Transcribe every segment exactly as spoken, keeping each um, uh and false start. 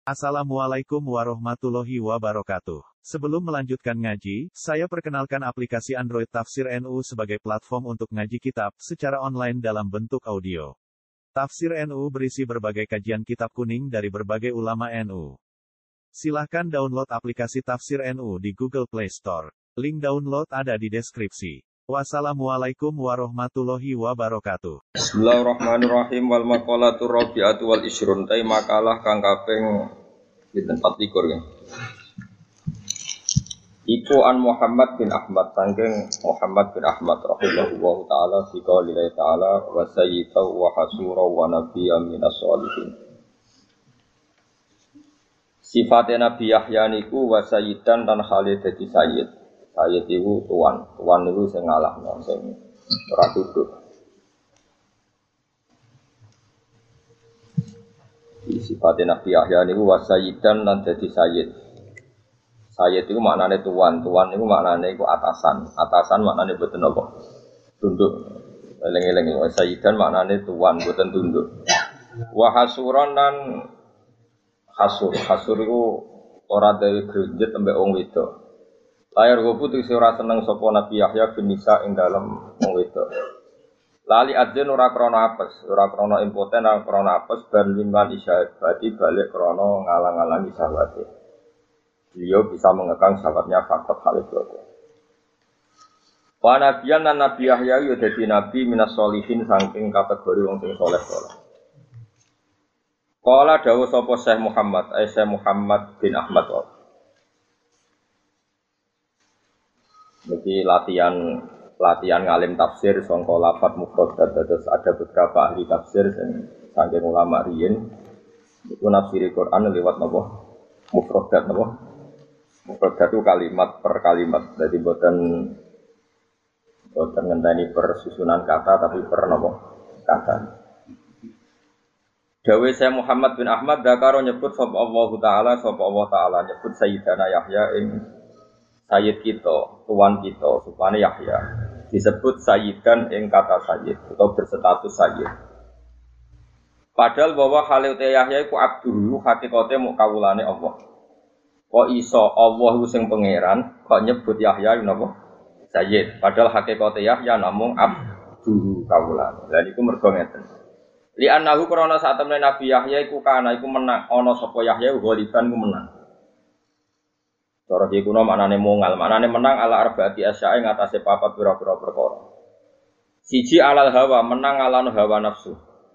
Assalamualaikum warahmatullahi wabarakatuh. Sebelum melanjutkan ngaji, saya perkenalkan aplikasi Android Tafsir N U sebagai platform untuk ngaji kitab secara online dalam bentuk audio. Tafsir N U berisi berbagai kajian kitab kuning dari berbagai ulama N U. Silahkan download aplikasi Tafsir N U di Google Play Store. Link download ada di deskripsi. Wassalamualaikum warahmatullahi wabarakatuh. Bismillahirrahmanirrahim. Wal maqalatu rabi'atu wal isyrun. Tai makalah kang kaping pinten empat likur ya. Iku an Muhammad bin Ahmad saking Muhammad bin Ahmad rahimahullahu taala fi qouli ta'ala wa sayyidu wa hasura wa nabiyyan minas sholihin. Sifatnya Nabi Yahya niku wa sayyidan dan khalid dadi sayyid. Sayyid itu tuan, tuan itu sing ngalahno sing ora duduk. Sifatnya Nabi Yahya niku wa sayyidan lan dadi sayyid. Sayyid itu maknane tuan, tuan itu maknane iku atasan. Atasan maknane boten apa? Tunduk. Eling-eling wa sayyidan maknane tuan boten tunduk. Wa hasuran lan hasur. Hasur iku ora dhewe grunjet ambek wong wedok. Layar gopu tuh ora seneng sapa Nabi Yahya bin Nisa ing dalem wong wedok. Lali adzin ora krana apes, ora krana impoten, ora krana apes ben liman isyad berarti balik krana ngalang-alangi sahabatnya. Beliau bisa mengekang sahabatnya faktor Khalid itu. Wa nabiyan lan Nabi Yahya yo dadi nabi minas sholihin saking kategori wong sing saleh-saleh. Qala dawuh sapa Syekh Muhammad, ai Syekh Muhammad bin Ahmad. Jadi latihan latihan ngalim tafsir sangka lafaz mufradat, terus ada beberapa ahli tafsir yang saking ulama riyin itu nafsiri Quran lewat napa mufradat napa mufradat itu kalimat per kalimat, jadi boten boten ngenteni per susunan kata tapi per napa kata. Dawe saya Muhammad bin Ahmad dakaro nyebut sapa Allah taala sapa Allah taala nyebut Sayyidana Yahya ing Sayyid kita, tuan kita, supaya Yahya disebut Sayyidan ing kata Sayyid atau berstatus Sayyid. Padahal bahwa Khalil Yahya iku abduhu hakikate muk kawulane Allah. Kok iso Allah sing pangeran kok nyebut Yahya napa Sayyid, padahal hakikate Yahya namung abduhu kawulane. Lha niku mergo ngeten. Li annahu krana sak temene Nabi Yahya iku kana iku menang ana sapa Yahya ghaliban ku menang. Cara iki kuno maknane mongal, maknane menang ala arbaati asya'i ngatasé papat pira-pira perkara. Siji alal hawa, menang ala hawa nafsu.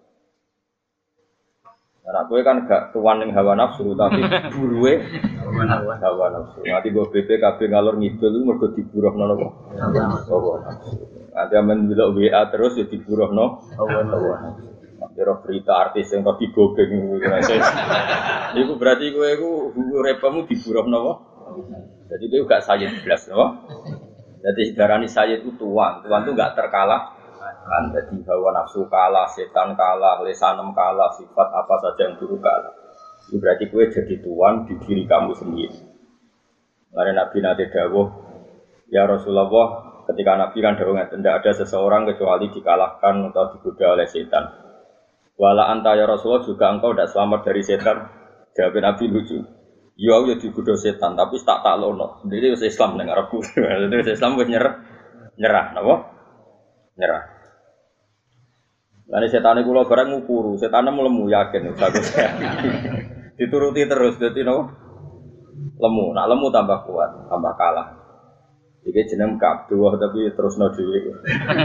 Nah, kowe kan gak tuan ning hawa nafsu tapi buruwe hawa nafsu. Nanti go B P K B ngalor ngidul mergo diburuhno napa? Hawa nafsu. Ada men delok W A terus ya diburuhno hawa nafsu. Kira berita artis yang tadi gogeng iku berarti kowe iku uripmu diburuhno apa? Jadi dia juga sayyid belas, no? Jadi darani sayyid itu tuan, tuan itu enggak terkalah. Kan jadi hawa nafsu kalah, setan kalah, lesanem kalah, sifat apa saja yang buruk kalah. Itu berarti kowe jadi tuan di diri kamu sendiri. Lalu Nabi nanti dawuh, ya Rasulullah, ketika Nabi kan dawuh tidak ada seseorang kecuali dikalahkan atau digoda oleh setan. Wala anta ya Rasulullah juga engkau tidak selamat dari setan. Jawab Nabi lucu. Ya ya digoda setan tapi tak taklono. Jadi wis Islam ning arepku. Jadi wis Islam wis nyerah. Nyerah napa? Nyerah. Lah nek setane kula bareng ngukuru, setane lemu yakin bagus. Dituruti terus dadi napa? Lemu. Nak lemu tambah kuat, tambah kalah. Iki jeneng kabduh tapi terusno dhewe.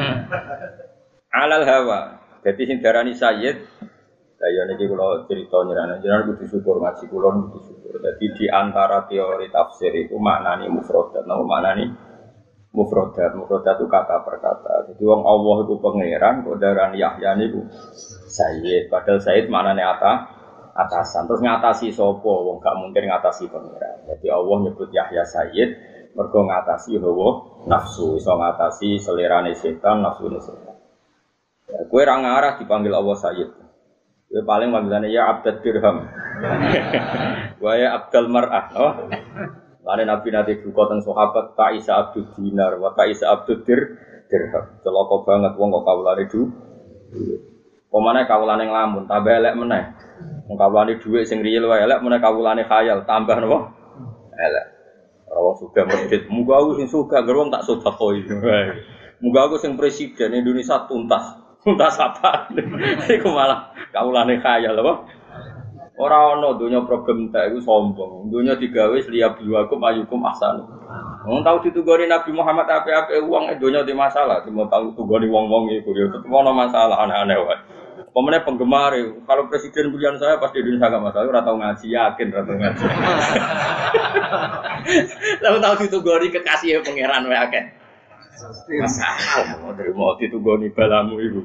Alal hawa. Dadi sing darani sayyid lah ya niki kula crita nyerane jenengan kudu syukur ngaji kula kudu syukur. Dadi di antara teori tafsir itu maknane mufradat, nama maknane mufradat. Mufradat itu kata per kata. Jadi wong Allah itu pangeran, kok darani Yahya niku sayyid. Padahal sayyid maknane ata atasan. Terus ngatasi sapa? Wong gak mungkin ngatasi pangeran. Jadi Allah nyebut Yahya sayyid mergo ngatasi hawa nafsu, iso ngatasi selerane setan, nafsune setan. Ya, kowe ra ngarah dipanggil Allah sayyid. Kowe paling panggilannya ya abdad dirham. Wa ya abdal mar'ah, oh. Lane Nabi nanti buka teng sahabat ta isa abdud dinar wa ta isa abdud dir dirham. Celaka banget wong kok kawulane du. Pemane kawulane nglamun, tambah elek meneh. Wong kawulane dhuwit sing riyel wae elek meneh kawulane khayal, tambah napa? Elek. Ora wong sugih medhit, muga aku sing sugih gerwong tak sedekoi. Muga aku sing presiden Indonesia tuntas. Tuntas apa? Iku malah kawulane khayal apa? Ora ana donya problem tak iku sombong. Donya digawe liya biwakum ayukum ahsan. Wong tau ditugoni Nabi Muhammad apik-apik wong donya di masalah, cuma tau tugoni wong-wong iku ya tetep ana masalah aneh-aneh wae. Pemene penggemar, kalau presiden pilihan saya pasti di Indonesia gak masalah, ora tau ngaji yakin ora tau ngaji. Tahu tahu ditugoni kekasih pangeran wae akeh. Masalah mau terima ditugoni balamu iku.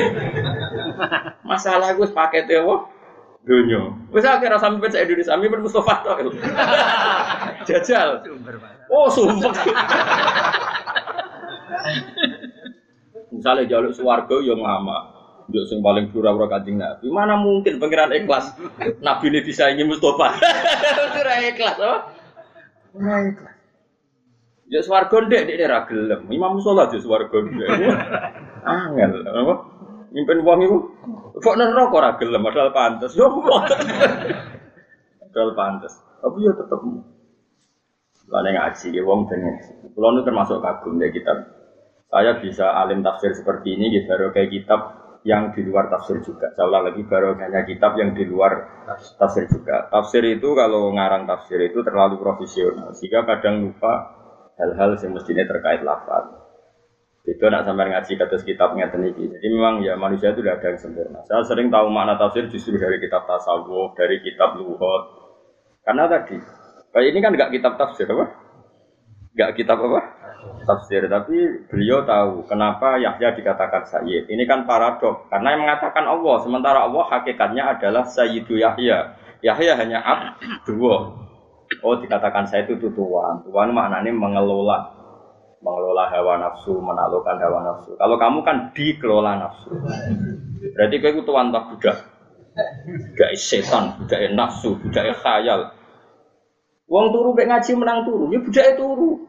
Masalah iku wis pakete wae. Dunia. Wis akeh ra sampe sak Indonesia, mimpin Mustofa tok. Jajal. Oh, sumpah. Misalnya jaluk swarga ya ngama. Yo sing paling pura-pura Kanjeng Nabi. Mana mungkin pangeran ikhlas Nabi ini disaingi Mustofa. Ora ikhlas, oh. Ora ikhlas. Ya swarga ndek ndek ra gelem. Imam Mustofa yo swarga ndek. Angel, apa? Mimpin wong iku kok neraka ora gelem padahal pantes. Yo padahal pantes. Tapi yo tetep lane ngaji ya wong dene. Kulo nu termasuk kagum ya kitab. Saya bisa alim tafsir seperti ini gitu baru kayak kitab yang di luar tafsir juga. Saya ulang lagi baru hanya kitab yang di luar tafsir juga. Tafsir itu kalau ngarang tafsir itu terlalu profesional sehingga kadang lupa hal-hal yang mestinya terkait lafaz. Itu nak sampai ngaji kados kitabnya teniki. Jadi memang ya manusia itu tidak ada yang sempurna. Saya sering tahu makna tafsir justru dari kitab tasawuf, dari kitab lughat. Karena tadi, kayak ini kan enggak kitab tafsir apa? Enggak kitab apa? Tafsir, tapi beliau tahu kenapa Yahya dikatakan Sayyid. Ini kan paradok, karena yang mengatakan Allah, sementara Allah hakikatnya adalah Sayyidu Yahya. Yahya hanya abdu. Oh, dikatakan saya itu tuan. Tuan maknanya mengelola. Mengelola hawa nafsu, menaklukkan hawa nafsu. Kalau kamu kan dikelola nafsu. Berarti kau itu tuan tak budak. Budak setan, budak nafsu, budak khayal. Wong turu mek ngaji menang turu, ya budake turu.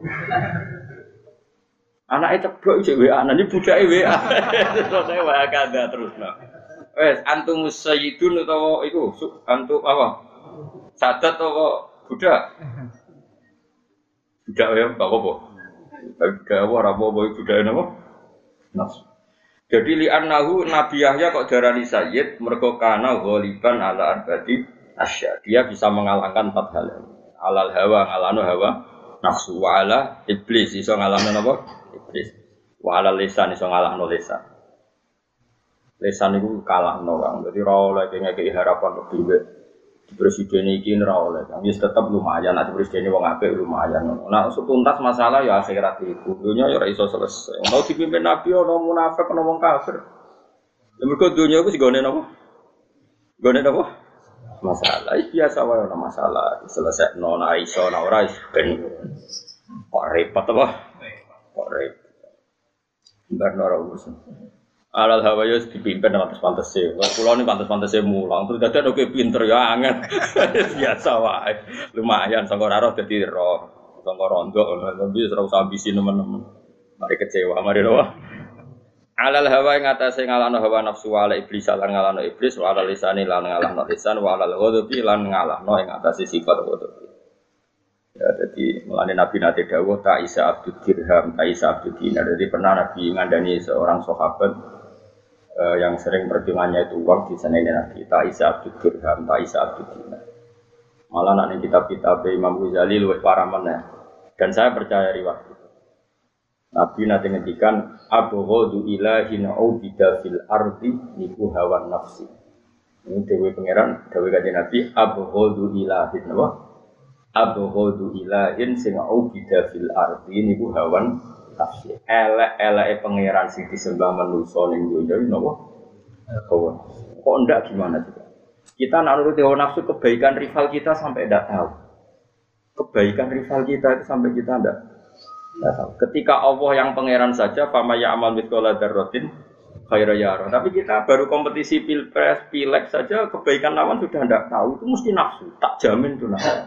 Anake ceblok iki W A, nang budake W A. Terus saya wae kada terusno. Wes antum sayyidun utawa iku antum apa? Sadat apa budak? Budak ya enggak apa-apa. Tapi budak apa ora apa-apa budake napa? Nafsu. Jadi li'annahu Nabi Yahya kok darani sayyid mergo kana ghaliban ala arbati asya. Dia bisa mengalahkan empat hal. Alal hawa ngalano hawa nafsu wa ala iblis iso ngalahno napa? Iblis. Wa ala lisan iso ngalahno lisan. Lisan iku kalahno Kang. Dadi ora oleh ngekeki harapan lebih wae. Presiden iki ora oleh. Kang wis tetep lumayan nek presiden wong apik lumayan. Nah, tuntas masalah ya akhirat iku. Dunya ya ora iso selesai. Mau dipimpin nabi ana munafik ana wong kafir. Ya mergo dunya iku sigone napa? Gone napa? Masalah biasa wae ana masalah diselesaikan ana iso ana ora ben kok repot apa kok repot bar ora urusan alal hawa yo dipimpin pantes-pantese kula ni pantes-pantese mulang terus dadi oke pinter ya angel biasa wae lumayan sangko ora roh dadi roh sangko rondo tapi ora usah ambisi nemen-nemen mari kecewa mari roh alal hawa ing atase ngalahno hawa nafsu ala iblis lan ngalahno iblis wa ala lisani lan ngalahno lisan wa ala ghadabi lan ngalahno ing atase sifat ghadabi. Ya dadi mulane Nabi nate dawuh ta isa abdul dirham ta isa abdul dinar. Jadi pernah Nabi ngandani seorang sahabat eh, yang sering perjuangannya itu uang di sana ini Nabi ta isa abdul dirham ta isa abdul dinar. Malah nek kitab-kitab Imam Ghazali luwih parah meneh. Dan saya percaya riwayat Nabi nanti ngendikan abghadu ilahin ubida fil ardi niku hawa nafsi. Ini dewe pangeran, dewe kanjeng Nabi abghadu ilahin apa? Abghadu ilahin sing ubida fil ardi niku hawa nafsi. Elek-eleke pangeran sing disembah manusa ning donya napa? Hawa. Kok ndak gimana juga? Kita nak nuruti hawa nafsu kebaikan rival kita sampai ndak tahu. Kebaikan rival kita itu sampai kita ndak ketika Allah yang pangeran saja fama ya'mal mithqala dzarratin khairan yara. Tapi kita baru kompetisi pilpres, pileg saja kebaikan lawan sudah tidak tahu itu mesti nafsu. Tak jamin itu nafsu.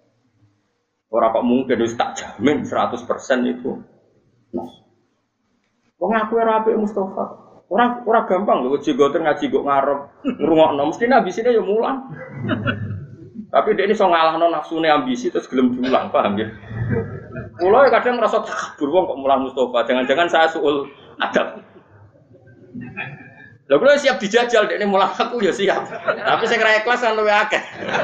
Orang kok mungkin itu tak jamin seratus persen itu nafsu. Wong aku ora apik Mustofa. Orang orang gampang lho jigoten ngaji kok ngarep ngrungokno mesti ambisine ya mulang. Tapi dia ini so ngalahno nafsune ambisi terus gelem diulang, paham ya? Kula ya kadang ngerasa takabur wong kok mulang Mustofa, jangan-jangan saya suul adab. Lha kula siap dijajal dekne mulang aku ya siap. Tapi saya kira ikhlas kan luwih akeh.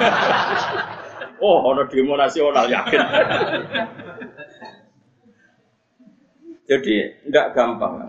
Oh, ana demo nasional yakin. Jadi enggak gampang.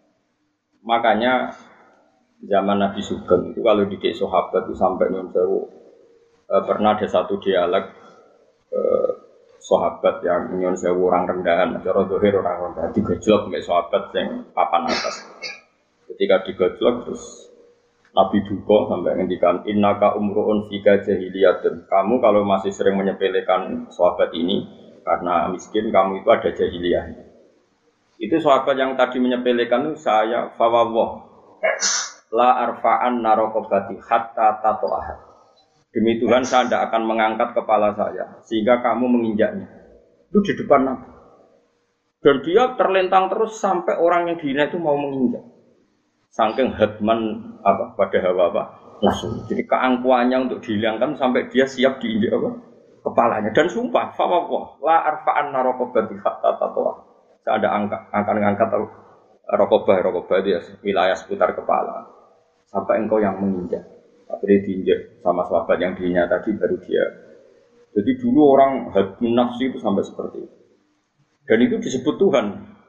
Makanya zaman Nabi Sugeng itu kalau didik sahabat itu sampai nyuwun sewu eh, pernah ada satu dialog eh, sahabat yang nyuwun sewu orang rendahan, cara zahir orang rendahan digojlok mek sahabat yang papan atas. Ketika digojlok terus Nabi duka sampai ngendikan innaka umruun fika jahiliyatun. Kamu kalau masih sering menyepelekan sahabat ini karena miskin, kamu itu ada jahiliyah. Itu sahabat yang tadi menyepelekan itu saya fawawah la arfa'an narokobati hatta tato'ah. Demi Tuhan saya tidak akan mengangkat kepala saya sehingga kamu menginjaknya. Itu di depan Nabi. Dan dia terlentang terus sampai orang yang dihina itu mau menginjak. Saking hadman apa pada hawa apa langsung. Jadi keangkuhannya untuk dihilangkan sampai dia siap diinjak apa kepalanya. Dan sumpah fawawah la arfa'an narokobati hatta tato'ah. Saya ada angka, akan mengangkat rokobah, rokobah itu ya, wilayah seputar kepala sampai engkau yang menginjak. Tapi dia diinjak sama sahabat yang diinjak tadi baru dia. Jadi dulu orang hadun nafsi itu sampai seperti itu. Dan itu disebut Tuhan.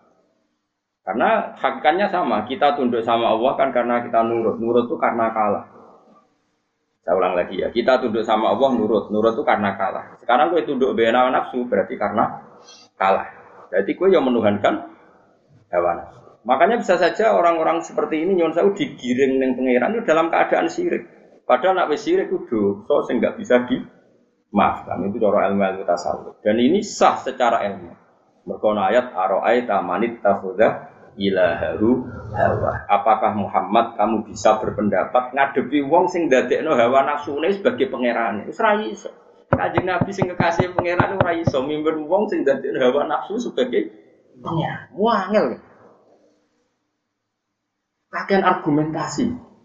Karena hakikatnya sama, kita tunduk sama Allah kan karena kita nurut. Nurut itu karena kalah. Saya ulang lagi ya, kita tunduk sama Allah nurut. Nurut itu karena kalah. Sekarang gue tunduk bena nafsu berarti karena kalah. Jadi kue yang menuhankan hawa nafsu. Makanya bisa saja orang-orang seperti ini nyuwun sewu digiring ning pangeran itu dalam keadaan syirik. Padahal nak wis syirik itu dosa sing enggak bisa dimaafkan. Itu cara ilmu-ilmu tasawuf. Dan ini sah secara ilmu. Mergo ayat ara'aita manit takhudha ilahahu hawa. Apakah Muhammad kamu bisa berpendapat ngadepi wong sing ndadekno hawa nafsune sebagai pangerane? Wis ra iso. Kanjeng Nabi sing kekasih pangeran ora iso mimpin wong sing dadi hawa nafsu sebagai pangeran. Wangel. Kakean argumentasi.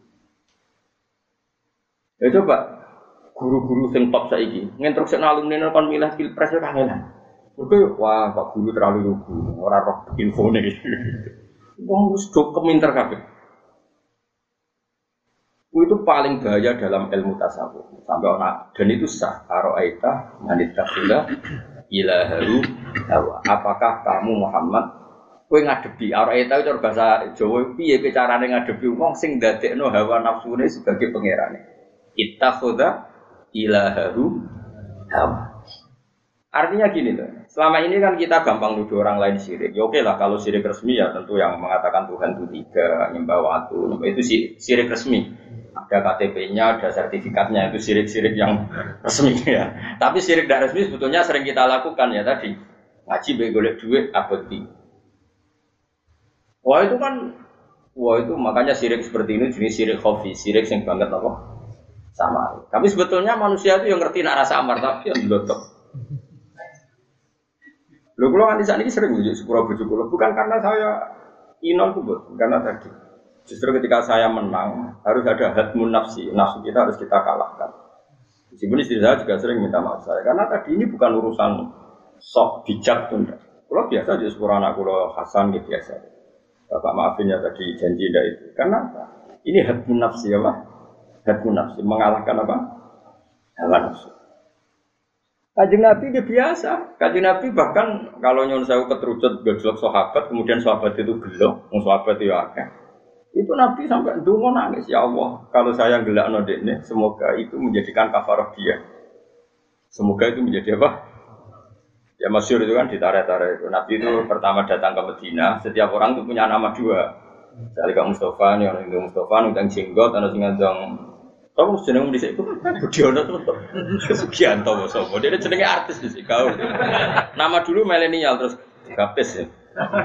Ya coba guru-guru sing top saiki nginstrukseni alumni kon milih pilpres ora kangenan. Mergo wah Pak Guru terlalu lugu, ora roh infone iki. Wong wis do keminter kabeh. Itu paling bahaya dalam ilmu tasawuf sampai orang dan itu sah aro'aita manitakhila ilaharu hawa. Apakah kamu Muhammad kowe ngadepi aro'aita itu bahasa Jawa piye carane ngadepi wong sing ndadekno hawa nafsune sebagai pangerane ittakhadha ilaharu hawa. Artinya gini loh, selama ini kan kita gampang nuduh orang lain syirik. Ya oke lah kalau syirik resmi ya tentu yang mengatakan Tuhan itu tiga, nyembah waktu, nyembah itu syirik resmi. Ada K T P-nya, ada sertifikatnya, itu syirik-syirik yang resmi ya. Tapi syirik tidak resmi sebetulnya sering kita lakukan ya tadi. Ngaji begolek duit, abadi. Wah itu kan, wah itu makanya syirik seperti ini jenis syirik khofi, syirik yang banget apa? Sama. Tapi sebetulnya manusia itu yang ngerti nak rasa amar tapi yang belotok. Lho kula nganti sakniki sering njuk sepura bojo kula bukan karena saya inon tuh, karena tadi. Justru ketika saya menang, harus ada hadmun nafsi, nafsu kita harus kita kalahkan. Meskipun istri saya juga sering minta maaf saya, karena tadi ini bukan urusan sok bijak tunda. Kalau biasa di sepuluh anak kulo Hasan gitu biasa. Bapak maafin ya tadi janji tidak itu. Karena ini hadmun nafsi ya Pak. Hadmun nafsi mengalahkan apa? Hawa nafsu. Kanjeng Nabi dia biasa. Kanjeng Nabi bahkan kalau nyuwun sewu keterucut gojlok sahabat, kemudian sahabat itu gelo, wong sahabat itu akeh. Itu Nabi sampai ndonga nangis, ya Allah, kalau saya gelakno dekne, semoga itu menjadikan kafarah dia. Semoga itu menjadi apa? Ya masyhur itu kan ditarik-tarik itu. Nabi itu pertama datang ke Madinah, setiap orang itu punya nama dua. Misalnya Kak Mustafa, nih orang itu Mustafa, nundang jenggot, ada sing ngandang. Kamu jeneng dhisik iku Budiono to. Sugianto sapa? Dia jenenge artis dhisik kau. Nama dulu milenial terus gapes ya.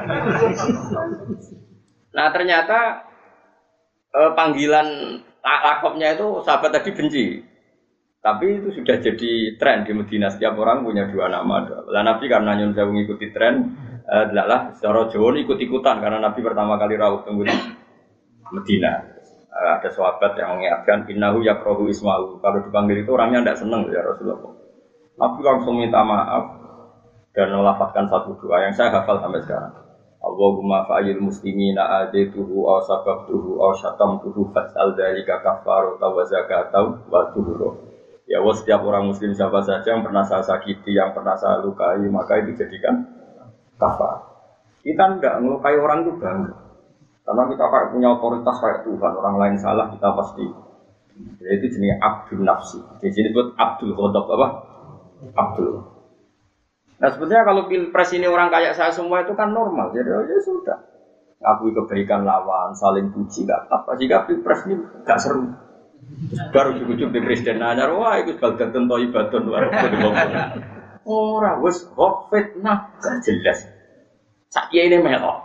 Nah ternyata Eh, panggilan lakopnya itu sahabat tadi benci, tapi itu sudah jadi tren di Madinah, setiap orang punya dua nama. Lah Nabi karena nyun saya mengikuti tren, eh, lah secara Jawa ikut-ikutan karena Nabi pertama kali rawuh tunggu Medina. Ada sahabat yang mengingatkan innahu yakrahu ismahu. Kalau dipanggil itu orangnya tidak senang ya Rasulullah. Nabi langsung minta maaf dan melafazkan satu doa yang saya hafal sampai sekarang. Allahumma fa'il muslimina adaituhu aw sababtuhu aw syatamtuhu fas'al dzalika kafarata wa zakatahu wa tuhuru. Ya Allah, setiap orang muslim siapa saja yang pernah saya sakiti, yang pernah saya lukai, maka itu dijadikan kafar. Kita tidak melukai orang itu bangga. Karena kita kayak punya otoritas kayak Tuhan, orang lain salah kita pasti. Jadi itu jenis abdul nafsi. Di sini buat abdul ghadab apa? Abdul. Nah sebenarnya kalau pilpres ini orang kayak saya semua itu kan normal. Jadi oh, ya sudah. Ngakui kebaikan lawan, saling puji nggak apa. Jika pilpres ini nggak seru. Baru ujung-ujung di presiden nanya, wah itu baldatun toibatun luar biasa. Orang wes kok fitnah gak jelas. Sakya ini melok.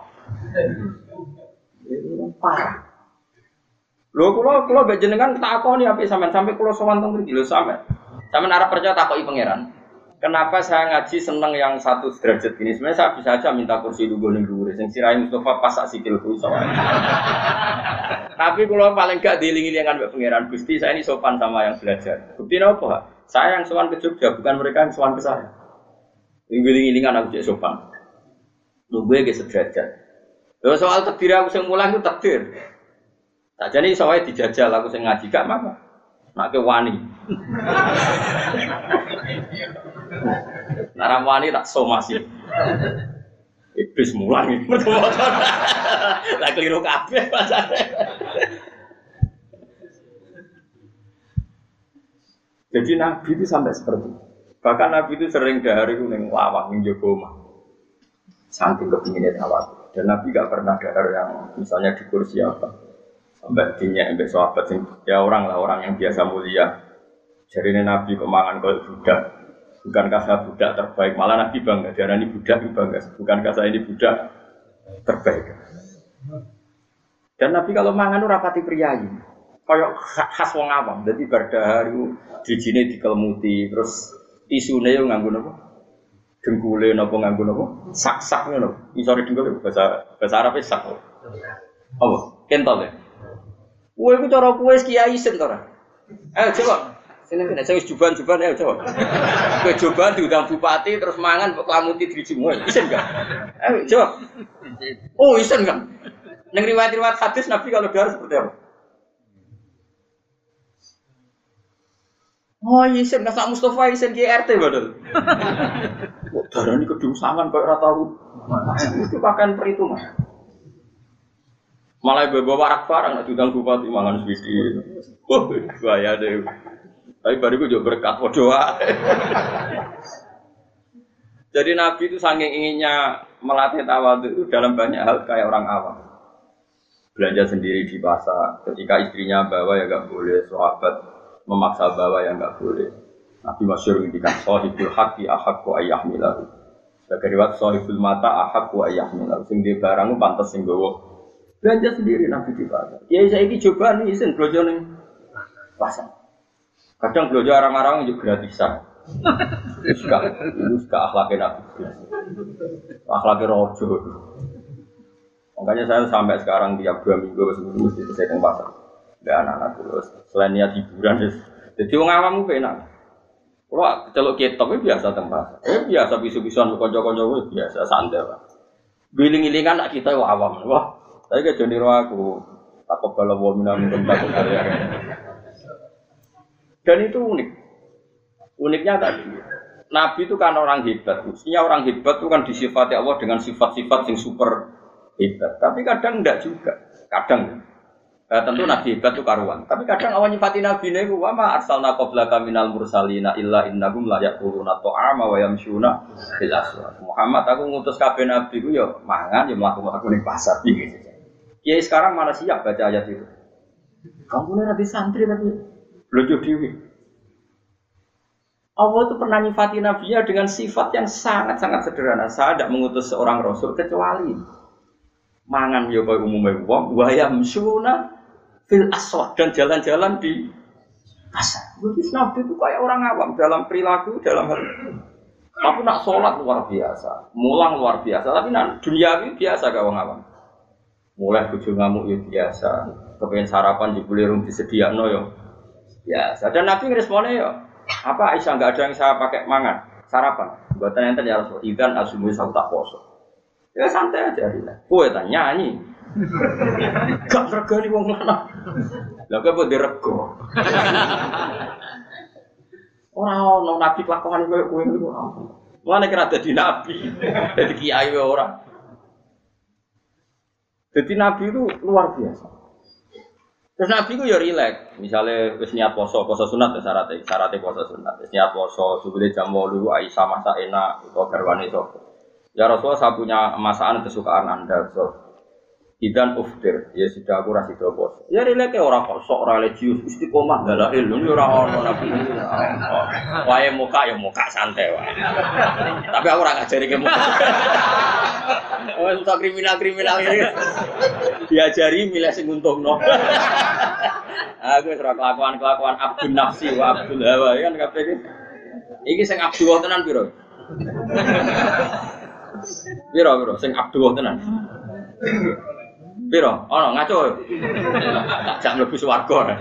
Parah. Lho kula kula mbek jenengan takoni apik sampean sampai kula sowan teng mriki lho sampean. Sampean arep percaya takoki pangeran. Kenapa saya ngaji seneng yang satu derajat gini? Sebenarnya saya bisa aja minta kursi lugu ning dhuwur sing sirahe Mustofa pas sak sikilku iso. Tapi kula paling gak dieling-elingan mbek pangeran Gusti, saya ini sopan sama yang belajar. Bukti napa? Saya yang sowan ke Jogja, bukan mereka yang sowan ke saya. Eling-elingan aku cek sopan. Lho gue ge sederajat. Lho soal takdir aku sing mulang itu takdir. Sakjane iso wae dijajal aku sing ngaji gak apa-apa. Nek wani. Nek wani tak somasi. Iblis mulang iki. Lah keliru kabeh pasane. Jadi Nabi itu sampai seperti itu. Bahkan Nabi itu sering dahar itu ning lawang ning jaba omah. Saking kepinginnya awak. Dan Nabi gak pernah dahar yang misalnya di kursi apa sampai dinya sampai sahabat ya orang lah orang yang biasa mulia. Jadi Nabi kemangan kalau budak, bukankah saya budak terbaik? Malah Nabi bangga, diarani budak itu bangga. Bukankah saya ini budak terbaik? Dan Nabi kalau mangan itu rapati priayi, kayak khas wong awam. Jadi berdahar itu dijine dikelemuti, terus tisune yo nganggo napa? Dengkule napa nganggo napa? Sak-sak ngono. Isore dengkule bahasa bahasa Arabe sak. Apa? Kentol ya. Kowe iku cara kowe kiai sen to ora? Ayo coba. Sini kene sing juban-juban ayo coba. Kowe juban diundang bupati terus mangan kok klamuti drijmu. Isen enggak? Ayo coba. Oh, isen enggak? Ning riwayat-riwayat hadis Nabi kalau dahar seperti apa? Oh, isen enggak sak Mustofa isen K R T padahal. Kok darani kedungsangan kok ora tau. Itu pakan perhitungan. Malah bawa warak barang nak diundang bupati mangan swisi. Wah, bahaya deh. Tapi bariku juga berkat doa. Jadi Nabi itu saking inginnya melatih tawadhu itu dalam banyak hal kayak orang awam. Belanja sendiri di pasar, ketika istrinya bawa ya enggak boleh, sahabat memaksa bawa ya enggak boleh. Nabi masyhur ngendikan sahibul haqqi ahaqqu ayyahmilahu. Sebagai riwayat sahibul mata ahaqqu ayyahmilahu. Sing di barang pantes sing gowo. Belanja sendiri Nabi di pasar. Ya saya ini coba nih isin belanja nih pasar. Kadang belanja orang-orang juga gratisan. Itu suka, itu suka akhlaknya Nabi. Akhlaknya rojo. Makanya saya sampai sekarang tiap dua minggu sebelum mesti saya ke pasar. Dan anak-anak terus selain niat hiburan, jadi orang awam itu enak. Kalau celok ketok itu biasa tempat. Eh biasa bisu-bisuan konco-konco itu biasa santai lah. Giling-gilingan nak kita awam. Wah. Saya ke Joni aku takut kalau bawa minum takut karya. Dan itu unik. Uniknya tadi, Nabi itu kan orang hebat. Mestinya orang hebat itu kan disifati Allah dengan sifat-sifat yang super hebat. Tapi kadang enggak juga. Kadang. Eh, tentu Nabi hebat itu karuan. Tapi kadang awal nyifati Nabi ini, wa ma arsalna qablaka minal mursalina illa innahum la yaquluna ta'ama wa yamshuna fil aswaq. Muhammad aku ngutus kabeh nabi ku ya mangan ya mlaku-mlaku ning pasar iki. Ya sekarang mana siap baca ayat itu? Kamu ini nanti santri tapi belajar dewi. Allah itu pernah nyifati nabinya dengan sifat yang sangat-sangat sederhana. Saya tidak mengutus seorang rasul kecuali mangan ya kaya umumnya wong, wayam suna fil aswaq dan jalan-jalan di pasar. Jadi nabi itu kayak orang awam dalam perilaku, dalam hal. Tapi nak sholat luar biasa, mulang luar biasa. Tapi nak dunia ini biasa kayak orang awam. Mulai bojo ngamuk ya biasa, kepengen sarapan jebule rung disediakno yo. Ya, dan Nabi ngeresponnya yo. Apa Aisyah enggak ada yang saya pakai mangan sarapan. Buatan enten ya Rasul. Idan asumu saya tak poso. Ya santai aja dia. Kowe ta nyanyi. Gak regani wong lanang. Lah kowe mbok dirego. Ora ono Nabi kelakuan koyo kowe niku ora. Mulane kira dadi nabi. Dadi kiai ora. Jadi Nabi itu luar biasa. Terus Nabi itu ya rileks. Misalnya wis niat poso, poso sunat ya syaratnya, syaratnya poso sunat. Wis niat poso, sebelum jam walu Aisyah masak enak, itu garwane sapa. Ya Rasulullah saya punya masakan kesukaan Anda, so. Idan uftir, ya sudah aku rasi do poso. Ya rileks orang kok sok religius, istiqomah dalail, ini ora ono Nabi. Wae muka ya muka santai wae. Tapi aku ora ngajari ke muka. Oh, untuk kriminal-kriminal ini diajari milih sing untungno. Aku wis ora kelakuan-kelakuan Abdul Nafsi wa Abdul Hawa kan kabeh iki. Iki sing Abdul tenan piro? Piro piro sing Abdul tenan? Piro? Ono ngaco. Tak jak mlebu swarga.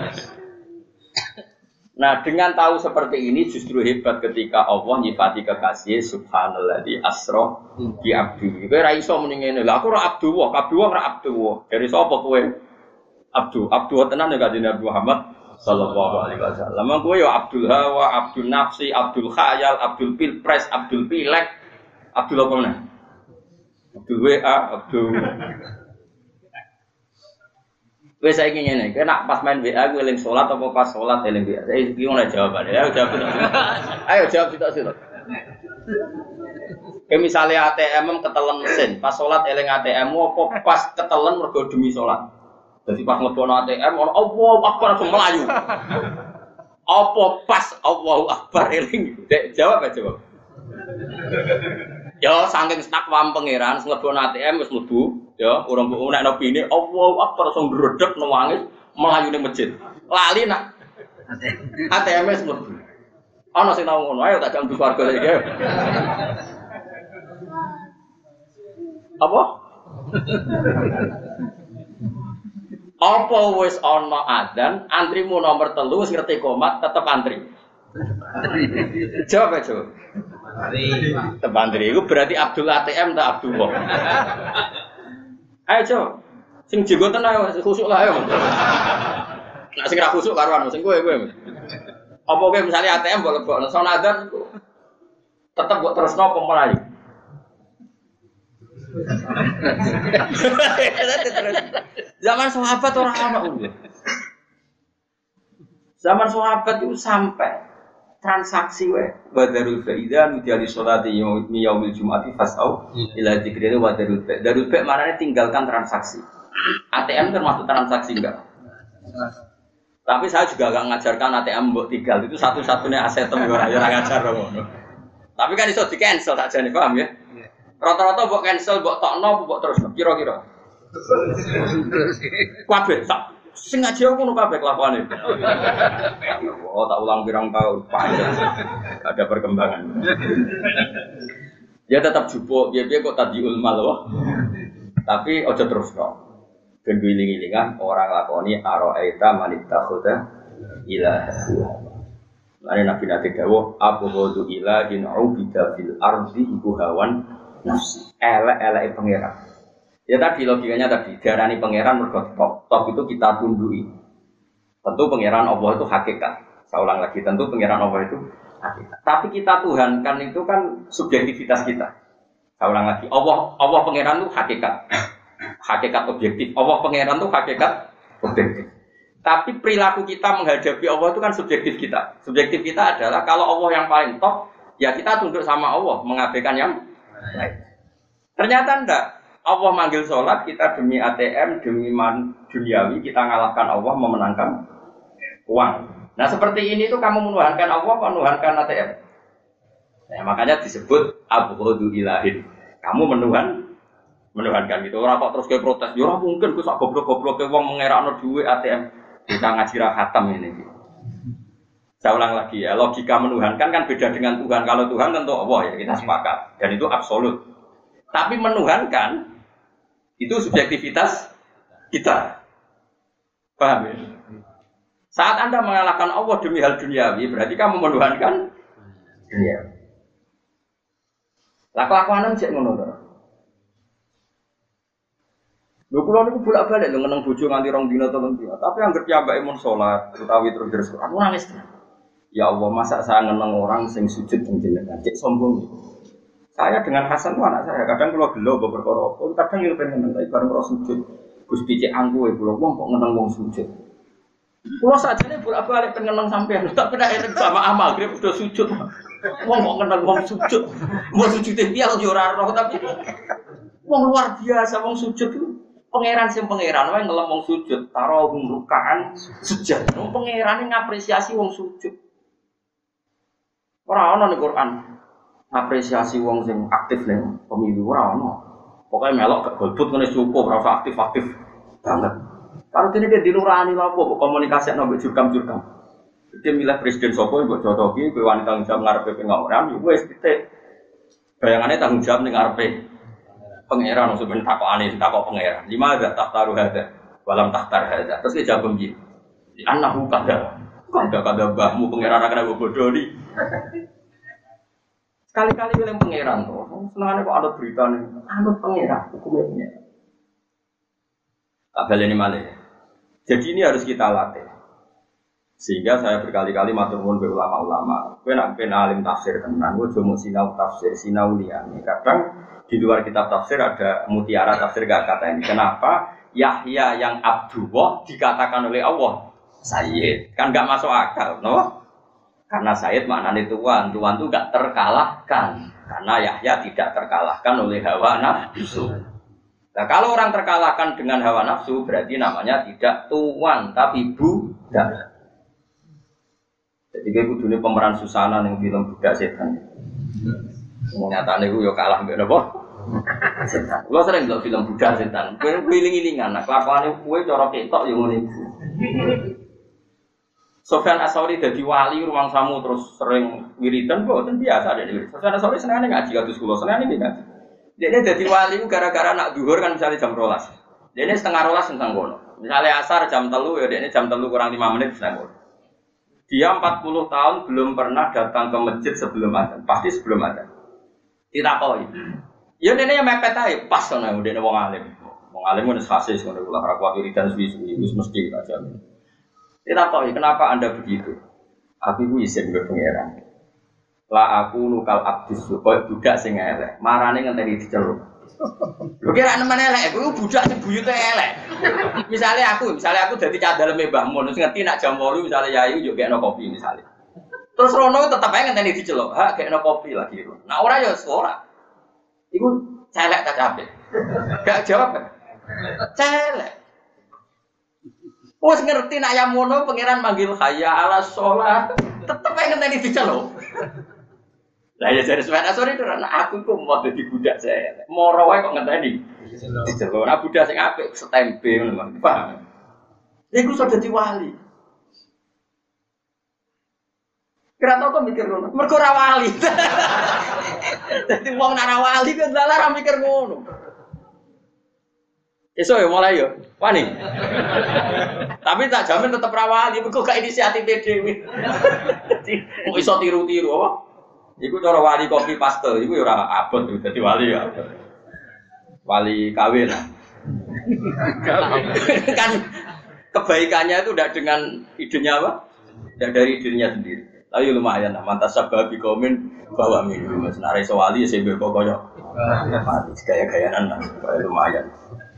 Nah, dengan tahu seperti ini justru hebat ketika Allah nyifati kekasih subhanalladzi asra bi abdi. Kowe ra iso muni ngene. Lah aku ora abdu wa, kabeh wong ra abdu wa. Dari sapa kowe? Abdu, abdu tenan ya kanjeng Nabi Muhammad sallallahu alaihi wasallam. Kowe ya Abdul Hawa, Abdul Nafsi, Abdul Khayal, Abdul Pilpres, Abdul Pilek, Abdul apa meneh? Abdul W A, Abdul Wes saiki ngene, kowe nak pas main W A kowe eling salat apa pas salat eling W A? Saya iki ngono jawabane. Ayo jawab. Ayo jawab sitok sitok. Kayak misalnya A T M ketelen mesin, pas salat eling A T M-mu apa pas ketelen mergo demi salat. Jadi pas nglebono A T M ono Allahu Akbar langsung melayu. Apa pas Allahu Akbar eling? Dek jawab aja, jawab. Ya saking takwam pangeran nglebono A T M wis mlebu. Ya, orang mbok nek opine Allahu Akbar langsung ndredeg nangis mlayu ning masjid. Lali nak A T M wis mlebu. Ana sing tau ngono, ayo tak jam swarga iki. Apa? Apa wis ana adzan, antrimu nomor telu wis ngerti komat tetep antri. Jawab aja. Antri. Tetep antri iku berarti Abdul A T M ta Abdullah. Ayo coba, sing jenggoten ayo khusuk lah ayo. Nak sing ra khusuk karuan sing kowe kowe. Apa kowe misale A T M mbok lebokno sonadzan iku tetep mbok terusno apa mlayu. Zaman sahabat ora ono. Zaman sahabat itu sampai transaksi wae badarul faida mutiali salati yaumil jumati fasau ila dzikrina wa darul fa darul fa maknanya tinggalkan transaksi. A T M termasuk transaksi enggak? Tapi saya juga enggak ngajarkan A T M mbok tinggal itu satu-satunya aset tem ora ya ngajar ngono. Tapi kan iso di-cancel tak jane paham ya? Rata-rata mbok cancel mbok tokno mbok terus kira-kira. Kabeh sak sing ngaji aku ngono kabeh kelakuane. Oh, tak ulang pirang tahun, panjang. Ada perkembangan. Ya tetap jupuk, biar-biar kok tadiul mal loh. Tapi ojo terus kok. Ben wiling-wilingan orang lakoni araita manitakhuda ilaha. Lane Nabi nate dawuh abghadu ilahin ubida fil ardi iku hawan nafsi. Elek-eleke pangeran. Ya tadi logikanya tadi diarani pangeran mergo top. Top itu kita tundui. Tentu pangeran Allah itu hakikat. Saya ulang lagi, tentu pangeran Allah itu hakikat. Tapi kita tuhankan itu kan subjektivitas kita. Saya ulang lagi, Allah Allah pangeran itu hakikat. Hakikat objektif. Allah pangeran itu hakikat objektif. Tapi perilaku kita menghadapi Allah itu kan subjektif kita. Subjektif kita adalah kalau Allah yang paling top, ya kita tunduk sama Allah, mengabaikan yang lain. Ternyata enggak. Allah manggil sholat, kita demi A T M, demi man, duniawi, kita ngalahkan Allah, memenangkan uang. Nah seperti ini tuh kamu menuhankan Allah, menuhankan A T M. Nah, makanya disebut abghadu ilahin. Kamu menuhan, menuhankan gitu. Orang kok terus kayak protes, ya orang mungkin gue sak goblok-goblok ke uang mengerakno duit A T M. Kita ngaji khatam ini. Saya ulang lagi ya, logika menuhankan kan beda dengan Tuhan. Kalau Tuhan tentu Allah ya kita sepakat, dan itu absolut. Tapi menuhankan itu subjektivitas kita. Paham ya? Saat Anda mengalahkan Allah demi hal duniawi, berarti kamu menuhankan dunia. Lah kelakuanan cek ngono to. Lho kula niku bolak-balik lho ngeneng bojo nganti rong dina telung dina, tapi anggere piyambake mun salat utawi terus terus aku nangis. Ya Allah, masa saya ngeneng orang sing sujud ning jenengan, cek sombong. Saya dengan Hasan itu anak saya, kadang kalau gelo bawa perkara apa, kadang yang pengen ngeneng, bareng kalau sujud. Gusti cek angku ya, kalau wong kok ngeneng wong sujud. Kalau saja ini bolak-balik pengen ngeneng sampean, tak pernah eling sama amal, dia udah sujud. Wong kok ngeneng wong sujud, mau sujudin dia kalau ora roh, tapi wong luar biasa wong sujud itu. Pangeran sing pangeran wae ngelem wong sujud, taro rukaan sujud. Wong pangeran ngapresiasi wong sujud. Ora ana ning Quran apresiasi wong sing aktif ning pemilu ora ana. Pokoke melok gak golput ngene cukup ora aktif-aktif banget. Karo dene dia dinurani lha apa komunikasi nang jurkam-jurkam. Dia milih presiden sapa mbok cocoki kowe wanita tanggung jawab ngarepe pengawaran yo wis titik. Bayangane tanggung jawab ning ngarepe pangeran sebenarnya takokane takok pangeran. Lima ada tahtaru hada walam tahtar hada. Terus dia jawab begini. Annahu kada. Kada-kada mbahmu pangeran akan bodoh di. Sekali-kali bilang pangeran tuh, senangnya kok ada berita nih, anut pangeran, hukumnya pangeran. Tak balik ini malah. Jadi ini harus kita latih. Sehingga saya berkali-kali matur nuwun be ulama-ulama. Kowe nek ben alim tafsir tenan, kowe aja mung sinau tafsir, sinau liyane. Kadang di luar kitab tafsir ada mutiara tafsir gak kata ini. Kenapa Yahya yang Abdullah dikatakan oleh Allah Sayyid? Kan gak masuk akal, no? Karena Sayyid maknanya tuan, tuan itu gak terkalahkan. Karena Yahya tidak terkalahkan oleh hawa nafsu. Nah kalau orang terkalahkan dengan hawa nafsu, berarti namanya tidak tuan, tapi budak. Jadi kayak kudunya pemeran Susana yang film budak setan. Nyatanya gue yo kalah mbak apa? Setan. Lo sering nggak film budak setan? Gue wiling-wilingan. Nah kelakuannya gue corok ketok yang ini. Sofyan As-Sauri jadi wali ruang samu terus sering wiridan, boten biasa ada wiridan. Sofyan As-Sauri senengane ngaji kados kula, senengane ngaji. Dene jadi wali gara-gara nak duhur kan misalnya jam rolas. Dene setengah rolas nang kono. Misalnya asar jam telu ya dene jam telu kurang lima menit nang kono. Dia empat puluh tahun belum pernah datang ke masjid sebelum adzan, pasti sebelum adzan. Ditakoi. Ya dene yang mepet ae pas ana dene wong alim. Wong alim wis fasis ngono kula ora kuat wiridan suwi-suwi wis mesti tak jamin. Tidak tahu kenapa anda begitu. Aku itu izin ke pangeran. Lah aku nukal abdis supaya budak sing elek. Marane ngenteni diceluk. Lho kira nemen elek, aku budak sing buyute elek. Misalnya aku, misalnya aku dadi cadaleme Mbah Mun, sing ngerti nak jam delapan misalnya yayu yo gekno kopi misalnya. Terus rono tetep ae ngenteni diceluk. Ha gekno kopi lagi. Nah ora ya ora. Iku celek ta capek. Gak jawab kan? Celek. Wes ngerti nak yang mono pangeran manggil hayya ala sholat tetep ae ngenteni diceluk. Lah ya jare Sufyan As-Sauri itu anak aku kok mau dadi budak saya. Moro wae kok ngenteni diceluk. Nah budak sing apik setempe ngono, paham. Iku iso dadi wali. Kira tau kok mikir ngono. Mergo ora wali. Dadi wong ora wali kok dalah mikir ngono. Esok ya mulai ya, wani. Tapi tak jamin tetap rawali, kok gak inisiatif dhewe. Dadi kok iso tiru-tiru apa? Iku cara wali kopi paste, iku ya ora abot dadi wali ya. Wali kawin. Kan kebaikannya itu tidak dengan idenya apa? Tidak dari idenya sendiri. Tapi lumayan lah, mantas sababi komen bawa minum. Senare sewali ya sebe koyo. Gaya-gayaan lah, lumayan.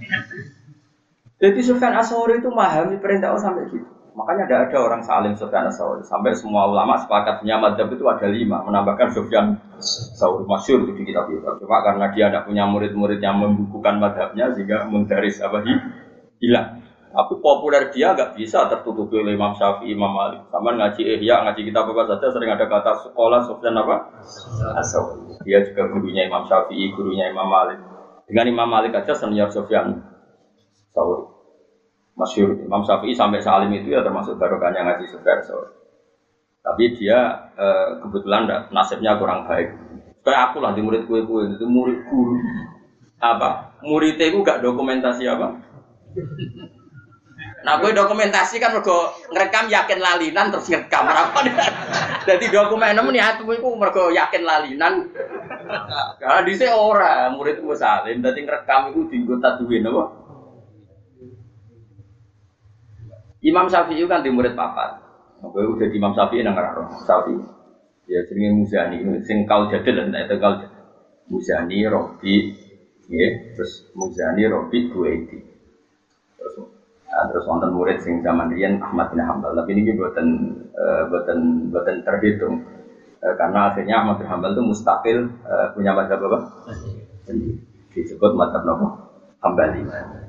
Jadi Sufyan As-Sauri itu memahami perintah Allah sampai gitu. Makanya tidak ada orang salim Sufyan As-Sauri. Sampai semua ulama sepakat punya madzhab itu ada lima. Menambahkan Sufyan As-Sauri masyhur di kitab-kitab. Cuma karena dia tidak punya murid-murid yang membukukan madzhabnya sehingga menggaris apa hilang. Tapi populer dia nggak bisa tertutupi oleh Imam Syafi'i, Imam Malik. Sama ngaji Ihya, ngaji kitab apa saja sering ada kata sekolah Sufyan apa? As-Sauri. Dia juga gurunya Imam Syafi'i, gurunya Imam Malik. Dengan Imam Malik aja senior Sufyan Sauri. Masyhur Imam Syafi'i sampai salim itu ya termasuk barokahnya ngaji Sufyan Sauri. Tapi dia e, kebetulan enggak, nasibnya kurang baik. Kayak aku lah di murid kue-kue itu murid guru. Apa? Muridnya itu gak dokumentasi apa? Nah, gue dokumentasi kan mergo ngerekam yakin lalinan terus ngerekam apa. Jadi dokumen nemu niatmu iku mergo yakin lalinan. Karena dhisik ora, murid ku salim, dadi ngerekam iku dienggo tadwin apa? Imam Syafi'i kan di murid papat. Kowe udah di Imam Syafi'i nang karo Syafi'i. Ya jenenge Muzani, sing kau jadil lan itu kau Muzani Robi, nggih, terus Muzani Robi Buaiti. Terus nah, terus wonten murid sing zaman riyen Ahmad bin Hambal, tapi ini boten uh, boten boten terhitung. Uh, karena akhirnya Ahmad bin Hambal itu mustaqil uh, punya mazhab apa? Sendiri. Disebut mazhab apa? Hambali.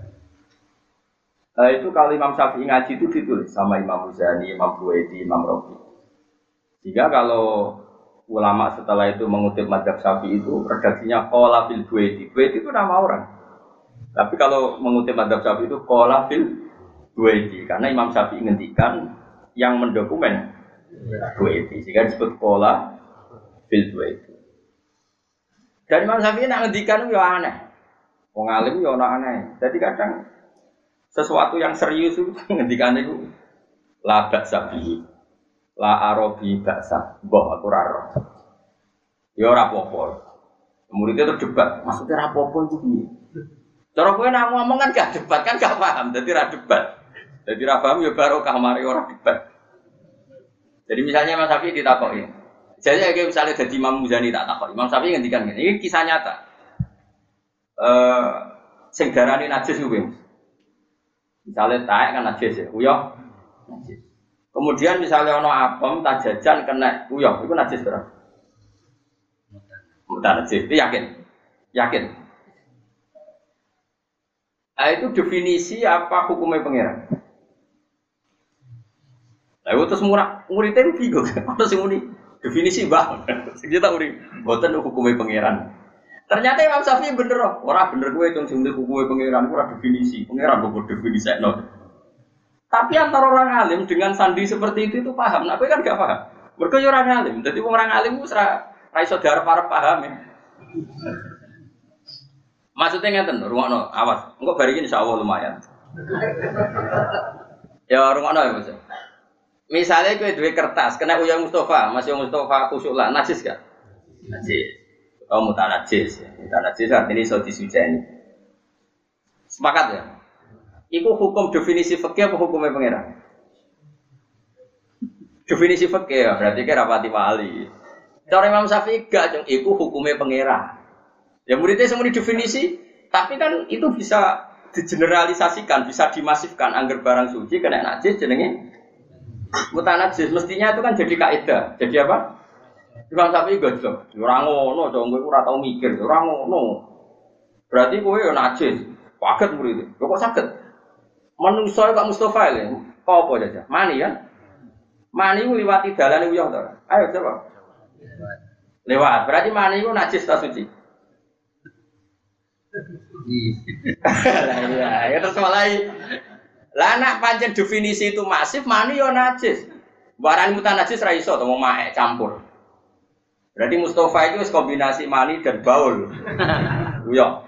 Uh, itu kalau Imam Syafi'i ngaji itu ditulis sama Imam Muzani, Imam Buaiti, Imam Robi. Jika kalau ulama setelah itu mengutip mazhab Syafi'i itu redaksinya qala fil Buaiti. Buaiti itu nama orang. Tapi kalau mengutip mazhab Syafi'i itu qala fil Buaiti karena Imam Syafi'i ngendikan yang mendokumen Buaiti. Sehingga disebut qala fil Buaiti. Dan Imam Syafi'i nak ngendikan itu ya aneh. Wong alim ya ana aneh. Jadi kadang sesuatu yang serius itu ngendikan itu la ba'sa bihi. La arabi baksa, boh aku raro. Ya ora apa-apa. Muridnya terdebat, maksudnya ora apa-apa itu piye? Cara kowe nak ngomong kan gak debat kan gak paham, dadi ra debat. Dadi ra paham ya barokah mari ora debat. Jadi misalnya Mas Syafi'i ditakoki. Jadi kayak misalnya dadi Imam Muzani tak takoki. Imam Syafi'i ngendikan ngene, iki kisah nyata. Eh sing darani najis kuwi. Misalnya taek kan najis ya, uyah najis. Kemudian misalnya ono apem tak jajan kena uyah, itu najis berapa? Mutan najis, itu yakin? Yakin? Nah itu definisi apa hukumnya pangeran? Nah itu terus murah, muridnya itu bingung, apa sih muni? Definisi bang, kita murid, buatan hukumnya pangeran. Ternyata Imam Syafi'i bener loh, orang bener gue itu sendiri hukumnya pangeran, kurang definisi, pangeran gue definisi no. Tapi antara orang alim dengan sandi seperti itu itu paham. Nah, aku kan gak paham. Mereka orang alim. Jadi orang alim itu serah raiso darah para paham ya. Maksudnya ngeten, rungokno, awas. Engko bari iki insyaallah lumayan. Ya rungokno ya, Mas. Misalnya kowe duwe kertas, kena uyah Mustafa, Mas Mustafa khusuk lah, najis gak? Najis. Oh, mutanajis. Mutanajis artinya iso disujeni. Sepakat ya? Iku hukum definisi fikih apa hukumnya pangeran? Definisi fikih ya, berarti kira rapati wali. Cara Imam Syafi'i gak, cung. Iku hukumnya pangeran. Ya muridnya semua definisi, tapi kan itu bisa digeneralisasikan, bisa dimasifkan. Angger barang suci kena najis jenenge mutanajis. Mestinya itu kan jadi kaidah. Jadi apa? Imam Syafi'i gojlok. Ora ngono, cung. Kowe ora tau mikir, ora ngono. Berarti kowe yo najis. Kaget muridnya. Kok saged? Menungso kok Mustafa lho. Apa aja? Mani kan? Mani ku liwati dalane uyah to. Ayo coba. Lewat. Berarti mani ku najis ta suci? Iya, ya terus mulai. Lah nek pancen definisi itu masif, mani yo najis. Barang mutan najis ra iso to wong maek campur. Berarti Mustafa itu wis kombinasi mani dan baul. Uyah.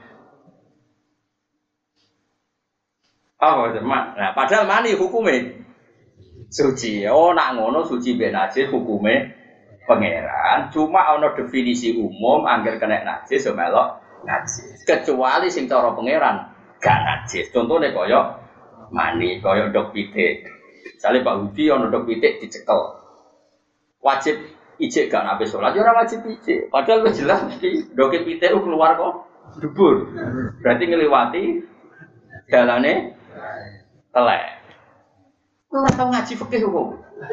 Oh, nah, padahal mani hukumnya suci. Oh, nak ngono suci ben najis hukumnya pangeran. Cuma ono definisi umum angger kena najis melok najis. Kecuali sing cara pangeran gak najis. Contohnya kaya mani, kaya ndok pitik. Misale Pak Hudi ono ndok pitik dicekel. Wajib ijik gak nabe salat, ora wajib ijik. Padahal wis jelas mesti ndok pitik keluar kok dubur. Berarti ngliwati dalane telek. Ora tau ngaji fikih kok.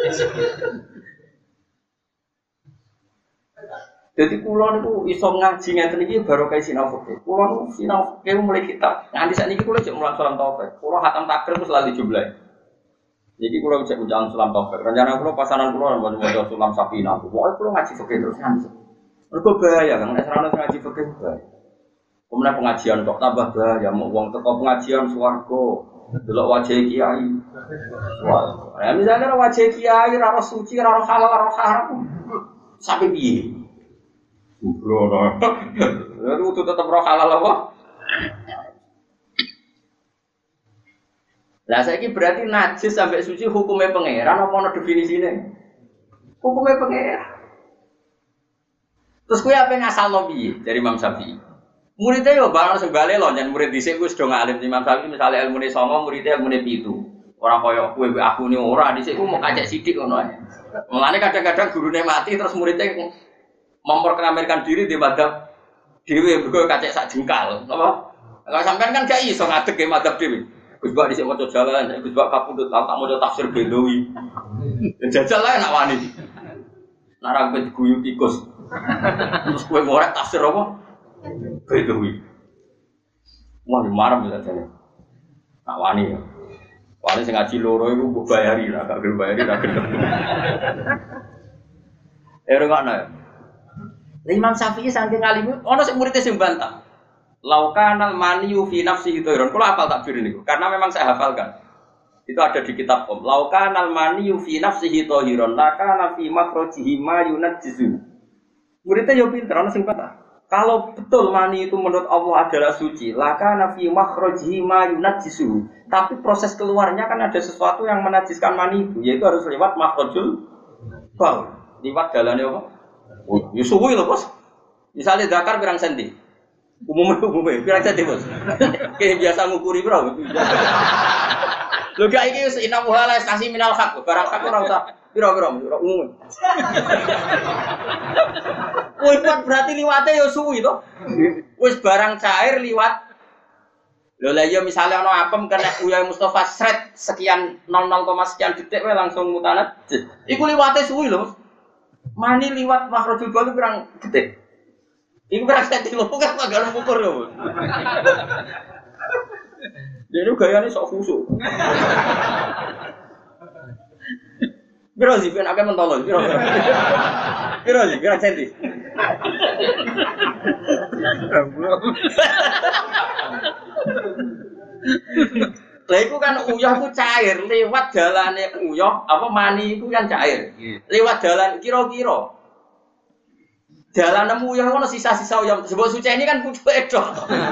Jadi kula niku iso ngaji ngeten iki baru kae sinau fikih. Kula niku sinau fikih mulai kitab. Nganti sakniki kula jek mulang salam taufik. Kula khatam takrib wis lali jumlah. Niki kula cek ucapan salam taufik. Rencana kula pasanan kula maca salam sapina. Pokoke kula ngaji fikih terus nganti. Mergo bahaya kan nek ora ngaji fikih bahaya. Kemudian pengajian kok tambah bahaya, mau uang teko pengajian swarga, delok wajah kiai. Wah, ya misalnya wajah kiai ora suci, ora halal, ora haram. Sampai piye? Bro, lalu itu tetap roh halal apa? Lah saiki berarti najis sampai suci hukumnya pangeran apa ana definisine? Hukumnya pangeran. Terus kowe apa ngasalno piye dari Imam Syafi'i? Muridnya yo barang sing bali lho jan murid dhisik wis do ngalim Imam Syafi'i misale ilmune songo muridnya ilmune pitu. Ora kaya kowe aku ni ora dhisik ku mau kacek sithik ngono ae. Mulane kadang-kadang gurune mati terus muridnya memperkenalkan diri di madhab dhewe mergo kacek sak jengkal, apa? Kalau sampean kan gak iso ngadeg ke madhab dhewe. Gus Bak dhisik maca jalan, Gus Bak kapundhut tak maca tafsir Bedawi. Jajal ae nak wani. Nek ra guyu tikus. Terus kowe ngorek tafsir apa? Bedawi. Wah, marem ya jane. Tak wani ya. Wani sing ngaji loro iku mbok bayari lah, gak gelem bayari ra gelem. Eh rungokno ya. Imam Syafi'i saking alim, ono sing murid sing bantah. Laukanal maniyu fi nafsihi dhairon. Kalau hafal takbir niku, karena memang saya hafalkan. Itu ada di kitab Om. Laukanal maniyu fi nafsihi dhairon, lakana fi makhrajihi ma yunajjizu. Muridnya yo pinter, ono sing bantah. Kalau betul mani itu menurut Allah adalah suci, lakana fi makhrajihi ma yunajjizu. Tapi proses keluarnya kan ada sesuatu yang menajiskan mani itu, yaitu harus lewat makhrajul baul. Lewat dalane apa? Oh, ya suwi lho, Bos. Misalnya zakar pirang senti. Umumnya umumnya pirang senti, Bos. Kayak biasa ngukuri, Bro. Lho gak iki wis inamu hala stasi minal haq, barang hak ora usah pira-pira umum. Woi, berarti liwate ya suwi to. Wis barang cair liwat. Lho lah ya misale ana apem kena Uya Mustafa sret sekian nol nol, sekian detik wae langsung mutanat. Iku liwate suwi lho. Mani liwat makhrajul baul kurang detik. Iku kurang senti lho kan gak ngukur lho. Jadi gayane sok khusuk. Biro sih ben akeh mentolo, biro. Biro sih, kurang senti. Lah iku kan uyah ku cair lewat dalane uyah apa mani iku yang cair. Lewat dalan kira-kira. Dalane uyah ono sisa-sisa uyah sebab suci ini kan pucuke tok.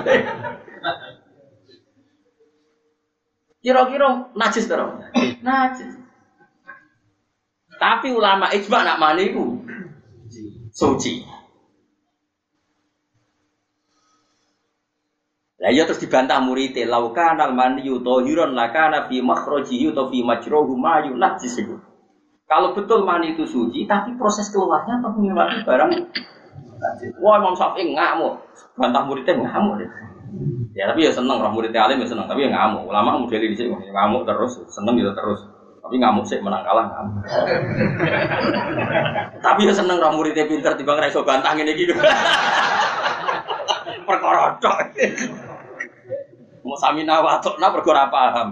Kira-kira najis to? Najis. Tapi ulama ijma nak mani iku suci. Lah ya terus dibantah murid, laukanal maniyu tahiran lakana fi makhrajihi atau fi majruhu ma yunajjis. Kalau betul mani itu suci, tapi proses keluarnya atau menyebabkan barang najis. Wah, Imam Syafi'i ngamuk, bantah muridnya ngamuk deh. Ya tapi ya seneng, orang muridnya alim ya seneng, tapi ya ngamuk. Ulama model di sini ngamuk terus, seneng gitu terus. Tapi ngamuk sih menang kalah ngamuk. Tapi ya seneng orang muridnya pinter timbang ra iso bantah ngene iki. Perkara tok. Mau samina watokna perkara paham.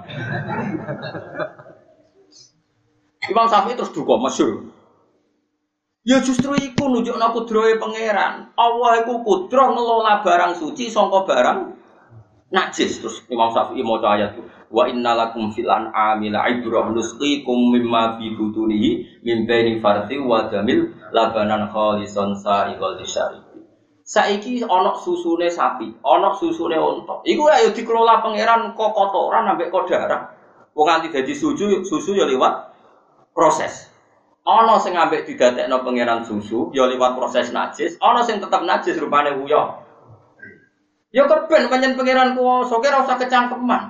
Imam Syafi'i terus duka masyhur. Ya justru iku nunjukna kudrahe pangeran. Allah iku kudroh ngelola barang suci sangka barang najis. Terus Imam Syafi'i maca ayat itu. Wa innalakum fil an'ami la'ibrah nusqikum mimma fi butunihi min baini farthi wa damil labanan khalisan sa'iqal lisyari. Saiki ana susune sapi, ana susune unta. Iku ayo dikelola pangeran kok kotoran ambek kok darah. Wong nganti dadi susu, susu ya liwat proses. Ana sing ambek didadekno pangeran susu ya liwat proses najis, ana sing tetep najis rupane uyah. Ya keben pancen pangeran kuwasa ki ora usah kecangkeman.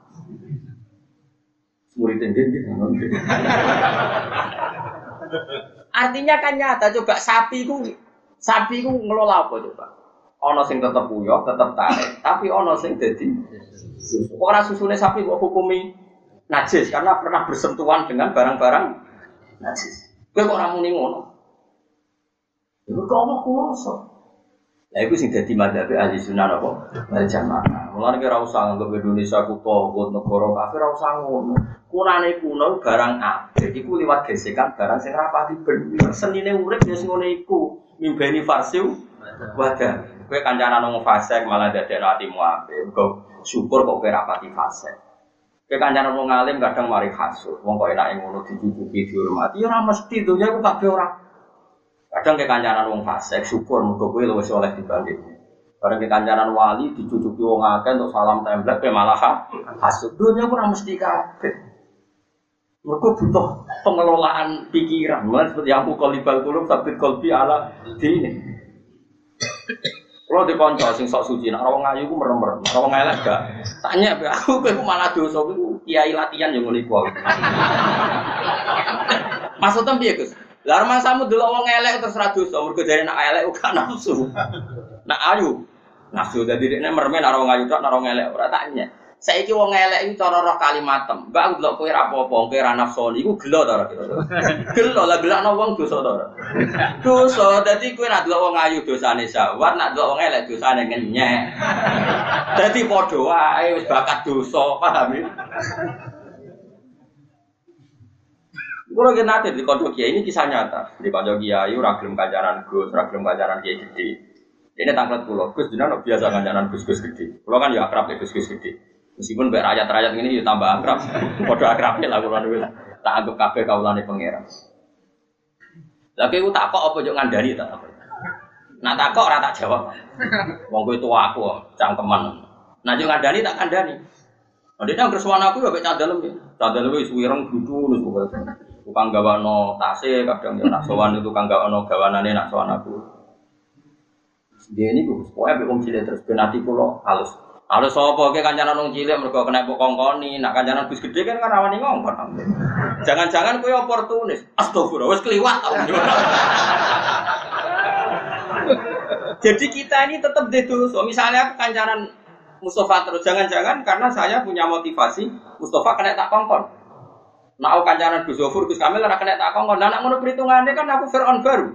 Murid ndek artinya kan nyata coba sapi ku sapi ku ngelola apa coba? Ana sing tetep uyah, tetep tarik, tapi ana sing dadi susu. Ora susune sapi kok hukumi najis karena pernah bersentuhan dengan barang-barang najis. Kowe kok ora muni ngono? Iku kok ana kuwasa. Lah iku sing dadi madzhab ahli sunnah apa? Wal jamaah. Mulane ora usah nganggep Indonesia ku togut negara kafir ora usah ngono. Kunane kuno barang apik iku liwat gesekan barang sing rapati bener. Senine urip ya sing ngene iku. Mimbeni farsiu wadah. Kowe kancanan wong fasik malah dadekno atimu apik. Engko syukur kok kowe rapati fasik. Kowe kancanan wong alim kadang mari hasud. Wong kok enake ngono dicucuki dihormati ya ora mesti donya iku kabeh ora. Kadang kowe kancanan wong fasik syukur mergo kowe luwih saleh dibanding. Bareng ke kancanan wali dicucuki wong akeh untuk salam template pe malah hasud. Dunya ora mesti kabeh. Mergo butuh pengelolaan pikiran. Mulai seperti yang qalibal qulub sabit qalbi ala dini. Kalau di konco sing sok suci, nak rawang ayu ku merem-merem, rawang elek gak. Tanya be aku kowe malah dosa ku kiai latihan yo ngene iku. Maksudnya piye, Gus? Lah mangsamu delok wong elek terus ra dosa, mergo jare nak elek uga nafsu. Nak ayu nafsu dadi dekne merem nak rawang ayu tok nak rawang elek ora tanya. Saiki wong elek iki cara roh kalimatem. Mbak aku delok kowe ra apa-apa, kowe ra nafsu iku gelo ta ora kira. Gelo lah gelakno wong dosa ta ora. Dosa dadi kowe ra delok wong ayu dosane syahwat, nak delok wong elek dosane ngenyek. Dadi padha wae wis bakat dosa, paham ya? Kulo ki nate di kanca kiai ini kisah nyata. Di kanca kiai ora gelem kancanan Gus, ora gelem kancanan kiai gede. Ini tanglet kulo, Gus jenengan biasa kancanan Gus-gus gede. Kulo kan ya akrab ya Gus-gus gede. Meskipun mbek rakyat-rakyat ngene ya tambah akrab. Padha akrabe lah kulo niku. Tak anggap kabeh kawulane pangeran. Lah kowe tak kok apa yo ngandani tak apa. Nak tak kok ora tak jawab. Wong kowe tuwa aku cangkeman. Nah yo ngandani tak kandani. Ndekne anggere suwan aku yo mek candalem ya. Candalem wis wireng gludu wis pokoke. Tukang gawano tase kadang yo nak sowan itu tukang gawano gawanane nak sowan aku. Dia ini Gus, pokoke mek wong cilik terus ben ati kula halus. Halus sapa ke kancanan wong cilik mergo kena mbok kongkoni, nak kancanan Gus gede kan kan rawani ngongkon. Jangan-jangan kowe oportunis. Astagfirullah wis kliwat. Jadi kita ini tetap dosa. Misalnya aku kancanan Mustafa terus jangan-jangan karena saya punya motivasi Mustafa kena tak kongkon. Nak aku kancanan Gus Zofur Gus Kamil ora kena tak kongkon. Lah nak ngono perhitungane kan aku Firaun baru.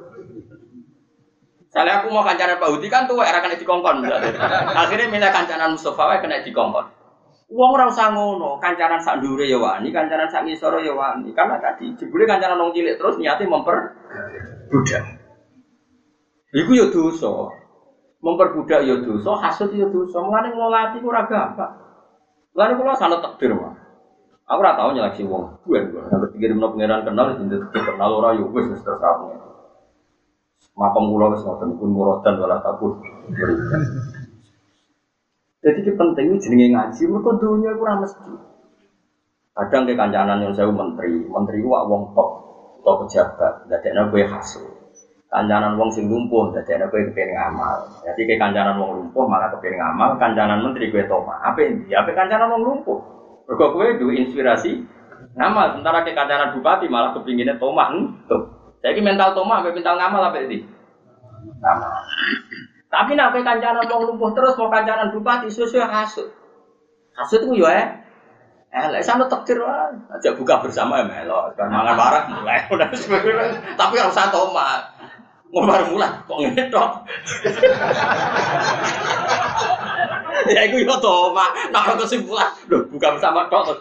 Misalnya aku mau kancanan Pak Hudi kan tuh era kena dikongkon. Akhirnya milih kancanan Mustafa wae kena dikongkon. Wong ora usah ngono, kancanan sak ndure ya wani, kancanan sak ngisor ya wani. Karena tadi jebule kancanan wong cilik terus niate memperbudak. Iku ya dosa. Memperbudak ya dosa, hasud ya dosa. Mulane ngelola ati ku ora gampang. Mulane kula sanad takdir mah. Aku ora tau nyeleksi wong. Buan kok. Nek pikir menawa pangeran kenal jenenge kenal ora ya wis wis terus aku. Makom kula wis ngoten pun muradan wala takut. Jadi ki penting jenenge ngaji mergo dunya iku ora mesti. Kadang ke kancanan yang saya menteri, menteri ku wong top, top pejabat, dadekne kowe hasud. Kancanan wong sing lumpuh dadekne kowe kepengin ngamal. Jadi ke kancanan wong lumpuh malah kepengin ngamal, kancanan menteri kowe toma. Apa iki? Apa kancanan wong lumpuh? Mergo kowe duwe inspirasi ngamal, sementara ke kancanan bupati malah kepingine toma. Tuh. Jadi mental toma sampai mental ngamal apa ini? Ngamal. Tapi nak kancanan wong lumpuh terus mau kancanan bupati sesuai hasud. Hasud ku yo eh. Eh lek sampe takdir wae. Aja buka bersama ya melo. Kan mangan warak mulai. Tapi ora usah toma. Ngomar mulai kok ngene tok. Ya iku yo toma. Nek kesimpulan, lho buka bersama tok.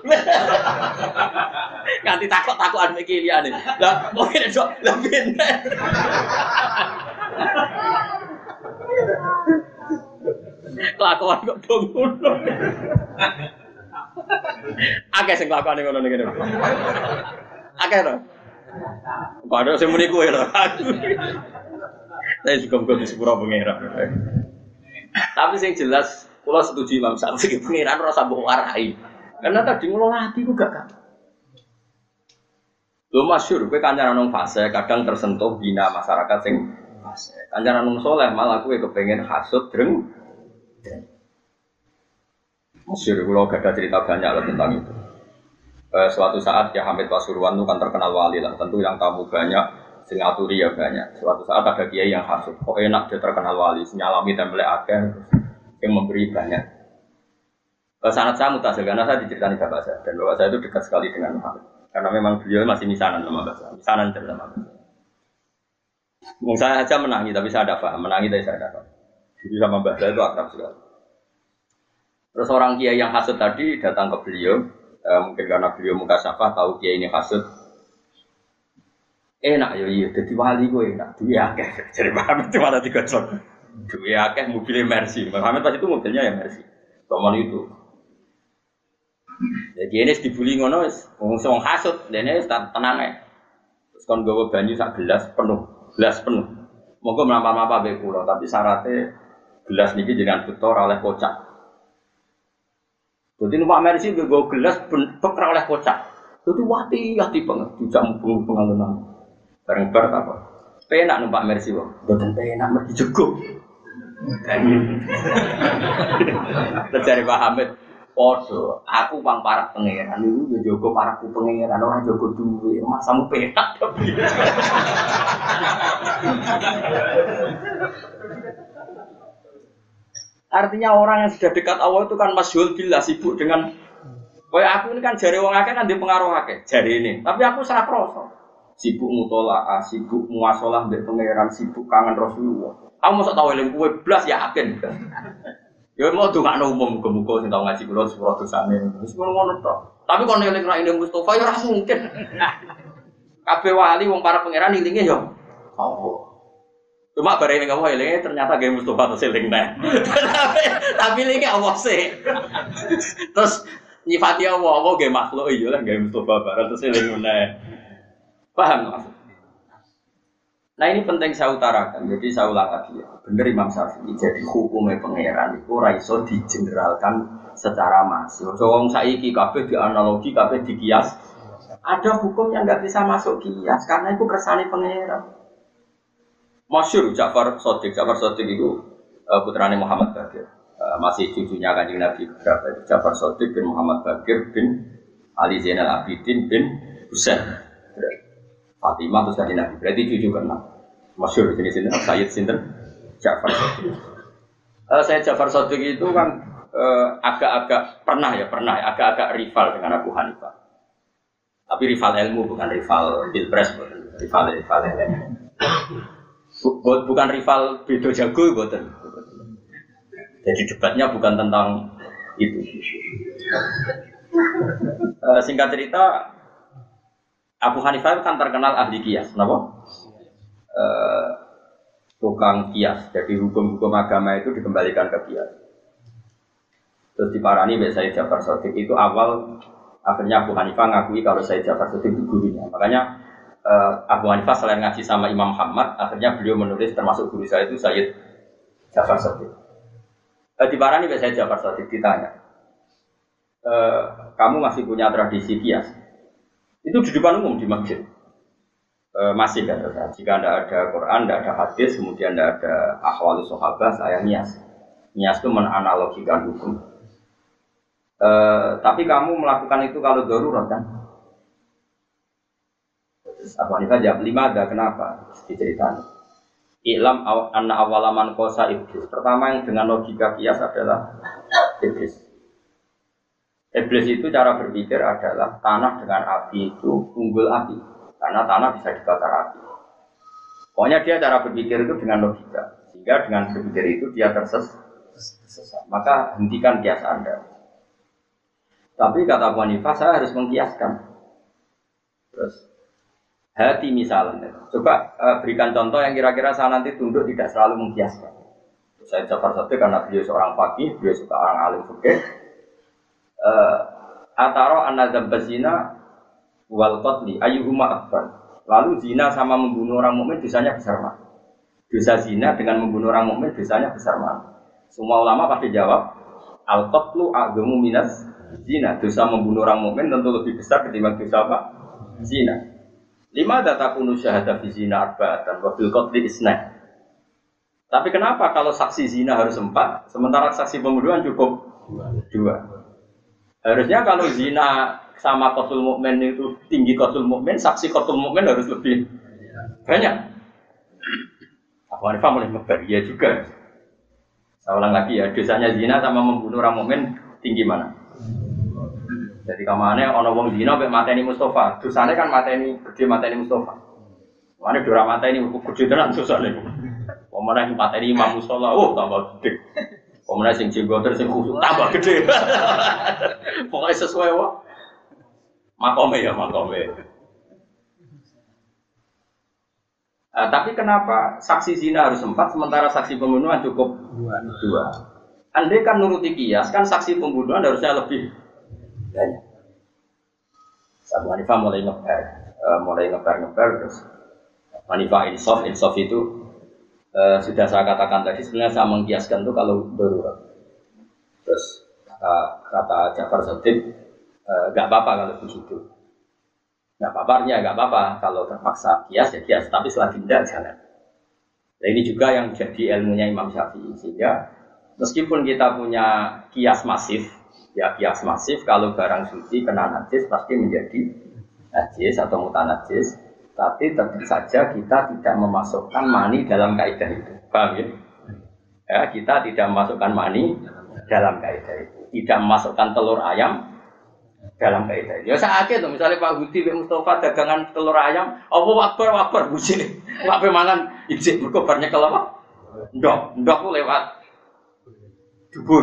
Ganti takok-takokan iki liyane. Lah kok ngene tok, lah ben. Kelakuan kok dong ngono. Akeh sing kelakuane ngono ngene. Akeh to. Kok ada sing muni kowe lho. Saya juga bukan di sepura pengeran. Tapi sing jelas kula setuju Imam Syafi'i pengeran ora sambung warai. Karena tadi ngelola hati ku gak kan. Lho masyhur kowe kancanan nang fase kadang tersentuh bina masyarakat sing fase. Kancanan nang saleh malah kowe kepengin hasud dreng. Masyhur kula gak ada cerita banyak lah tentang itu. Eh, suatu saat ya Hamid Pasuruan itu kan terkenal wali lah. Tentu yang tamu banyak, sing aturi ya banyak. Suatu saat ada kiai yang hasud. Kok enak dia terkenal wali, nyalami template akeh yang memberi banyak. Eh, sanad saya mutasil karena saya diceritani bapak saya dan bapak saya itu dekat sekali dengan Hamid. Karena memang beliau masih misanan sama bapak saya. Misanan cerita sama bapak saya. Mungkin saya aja menangi tapi saya ada paham, menangi tapi saya ada paham. Jadi sama bapak saya itu akrab sekali. Terus orang kiai yang hasud tadi datang ke beliau. Uh, mungkin karena beliau muka syafah tahu dia ini hasud enak ya iya jadi wali gue enak duit akeh jadi Muhammad cuma ada tiga ton duit akeh mobilnya Mercy Muhammad pas itu mobilnya ya Mercy toman itu jadi ini dibuli ngono ngomong hasud dan ini tenang ya terus kan gawa banyu sak gelas penuh gelas penuh monggo melampar-lampar beku loh tapi syaratnya Gelas niki dengan betor oleh kocak. Jadi numpak Mercy gue gelas beker oleh kocak. Jadi hati-hati banget, tidak mumpung pengalunan. Bareng bar apa? Penak numpak Mercy wong. Boten penak mergi jeguk. Terjadi Pak Hamid, podo, aku bang para pangeran, itu ya jogo paraku pangeran, orang jogo duwe, masamu penak tapi. Artinya orang yang sudah dekat Allah itu kan masyhul billah, sibuk dengan, kayak aku ini kan jari wong akeh kan dia pengaruh akeh, jari ini, tapi aku salah kroso, sibuk mutolaah, sibuk muasalah mbek pangeran, sibuk kangen Rasulullah. Kamu mosok tau eling kowe blas yakin. Ya mau dongakno umum muga-muga sing tau ngaji kula sepuro dosane. Wis ngono tok. Tapi kon eling ra eling Mustofa ya ora mungkin. Kabeh wali wong para pangeran ilinge ya Allah. Cuma bare ning Allah elinge ternyata gawe Mustofa terus eling neh. Tapi elinge Allah sih. Terus nyifati Allah, Allah gawe makhluk iya lah gawe Mustofa bareng terus eling neh. Paham maksud? Nah ini penting saya utarakan, jadi saya ulang lagi ya. Bener Imam Syafi'i, jadi hukumnya pangeran itu raiso digeneralkan secara masif. Wong saiki kabeh dianalogi, kabeh dikias. Ada hukum yang nggak bisa masuk kias karena itu kersane pangeran. Masyhur Ja'far Shadiq, Ja'far Shadiq itu uh, putrane Muhammad Baqir, uh, masih cucunya Kanjeng Nabi berapa? Ja'far Shadiq bin Muhammad Baqir bin Ali Zainal Abidin bin Husain. Fatimah terus Kanjeng Nabi, berarti cucu keenam. Masyhur jenis ini Sayyid sinten Ja'far Shadiq. Uh, Sayyid Ja'far Shadiq itu kan uh, agak-agak pernah ya, pernah ya, agak-agak rival dengan Abu Hanifah. Tapi rival ilmu bukan rival pilpres, bukan rival rival ilmu. Bukan rival bedo jago, bukan. Jadi debatnya bukan tentang itu. Uh, singkat cerita, Abu Hanifah kan terkenal ahli kias, kenapa? Uh, tukang kias. Jadi hukum-hukum agama itu dikembalikan ke kias. Terus diparani oleh Sayyid Ja'far Shadiq itu awal, akhirnya Abu Hanifah ngakui kalau Sayyid Ja'far Shadiq itu gurunya. Makanya uh, Abu Hanifah selain ngaji sama Imam Muhammad, akhirnya beliau menulis termasuk guru saya itu Sayyid Ja'far Shadiq. Uh, diparani oleh Sayyid Ja'far Shadiq ditanya, uh, kamu masih punya tradisi kias? Itu di depan umum di masjid. E, masih kan, jika tidak ada Quran, tidak ada hadis, kemudian tidak ada ahwal sahabat, saya nias. Nias itu menanalogikan hukum. E, tapi kamu melakukan itu kalau darurat kan? Abu Hanifah jawab, lima ada kenapa? Diceritakan. I'lam anna awalaman kosa iblis. Pertama yang dengan logika kias adalah iblis. Iblis itu cara berpikir adalah tanah dengan api itu unggul api. Karena tanah bisa dibakar api. Pokoknya dia cara berpikir itu dengan logika. Sehingga dengan berpikir itu dia tersesat. Maka hentikan kias Anda. Tapi kata Abu Hanifah, saya harus mengkiaskan. Terus hati misalnya. Coba uh, berikan contoh yang kira-kira saya nanti tunduk tidak selalu mengkiaskan. Saya Ja'far Shadiq karena beliau seorang faqih, beliau juga orang alim fikih. Uh, Ataro an-nadzab zina wal qatli ayyuhuma akbar. Lalu zina sama membunuh orang mukmin dosanya besar mana? Dosa zina dengan membunuh orang mukmin dosanya besar mana? Semua ulama pasti jawab al qatlu a'dhamu minas zina. Dosa membunuh orang mukmin tentu lebih besar ketimbang dosa apa? Zina. Lima datakunu syahada fi zina arba'atan wa fil qatli isna. Tapi kenapa kalau saksi zina harus empat, sementara saksi pembunuhan cukup dua? Harusnya kalau zina sama qatul mukmin itu tinggi qatul mukmin, saksi qatul mukmin harus lebih banyak. Abu Hanifah mulai ngebar, ya juga. Saya ulang lagi ya, dosanya zina sama membunuh orang mukmin tinggi mana? Jadi kamane ana wong zina mek mateni Mustofa, dosane kan mateni gede mateni Mustofa. Mane dora mateni gede tenan dosane. Pemene mateni Imam Mustofa, oh tambah gede. Pemene sing jenggoter sing khusuk tambah gede. Pokoknya sesuai wae. Makome ya makome. Uh, tapi kenapa saksi zina harus empat sementara saksi pembunuhan cukup dua? Andai kan nuruti kias kan saksi pembunuhan harusnya lebih banyak. Abu Hanifah mulai ngebar, uh, mulai ngebar ngebar terus. Hanifah insaf insaf itu uh, sudah saya katakan tadi sebenarnya saya mengkiaskan itu kalau darurat. Terus kata kata Ja'far Shadiq nggak uh, apa-apa kalau begitu. Nggak apa-apanya nggak apa-apa kalau terpaksa kias ya kias, tapi selagi tidak jangan. Nah ini juga yang jadi ilmunya Imam Syafi'i sehingga meskipun kita punya kias masif, ya kias masif kalau barang suci kena najis pasti menjadi najis atau mutanajis, tapi tentu saja kita tidak memasukkan mani dalam kaidah itu, paham ya? Ya kita tidak memasukkan mani dalam kaidah itu, tidak memasukkan telur ayam dalam kaidah itu. Ya sakit tuh, misalnya Pak Hudi, Pak Mustafa dagangan telur ayam, apa wakbar wakbar buji, Pak Pemangan ijik berkobarnya kalau apa? Ndok, ndok tuh lewat dubur,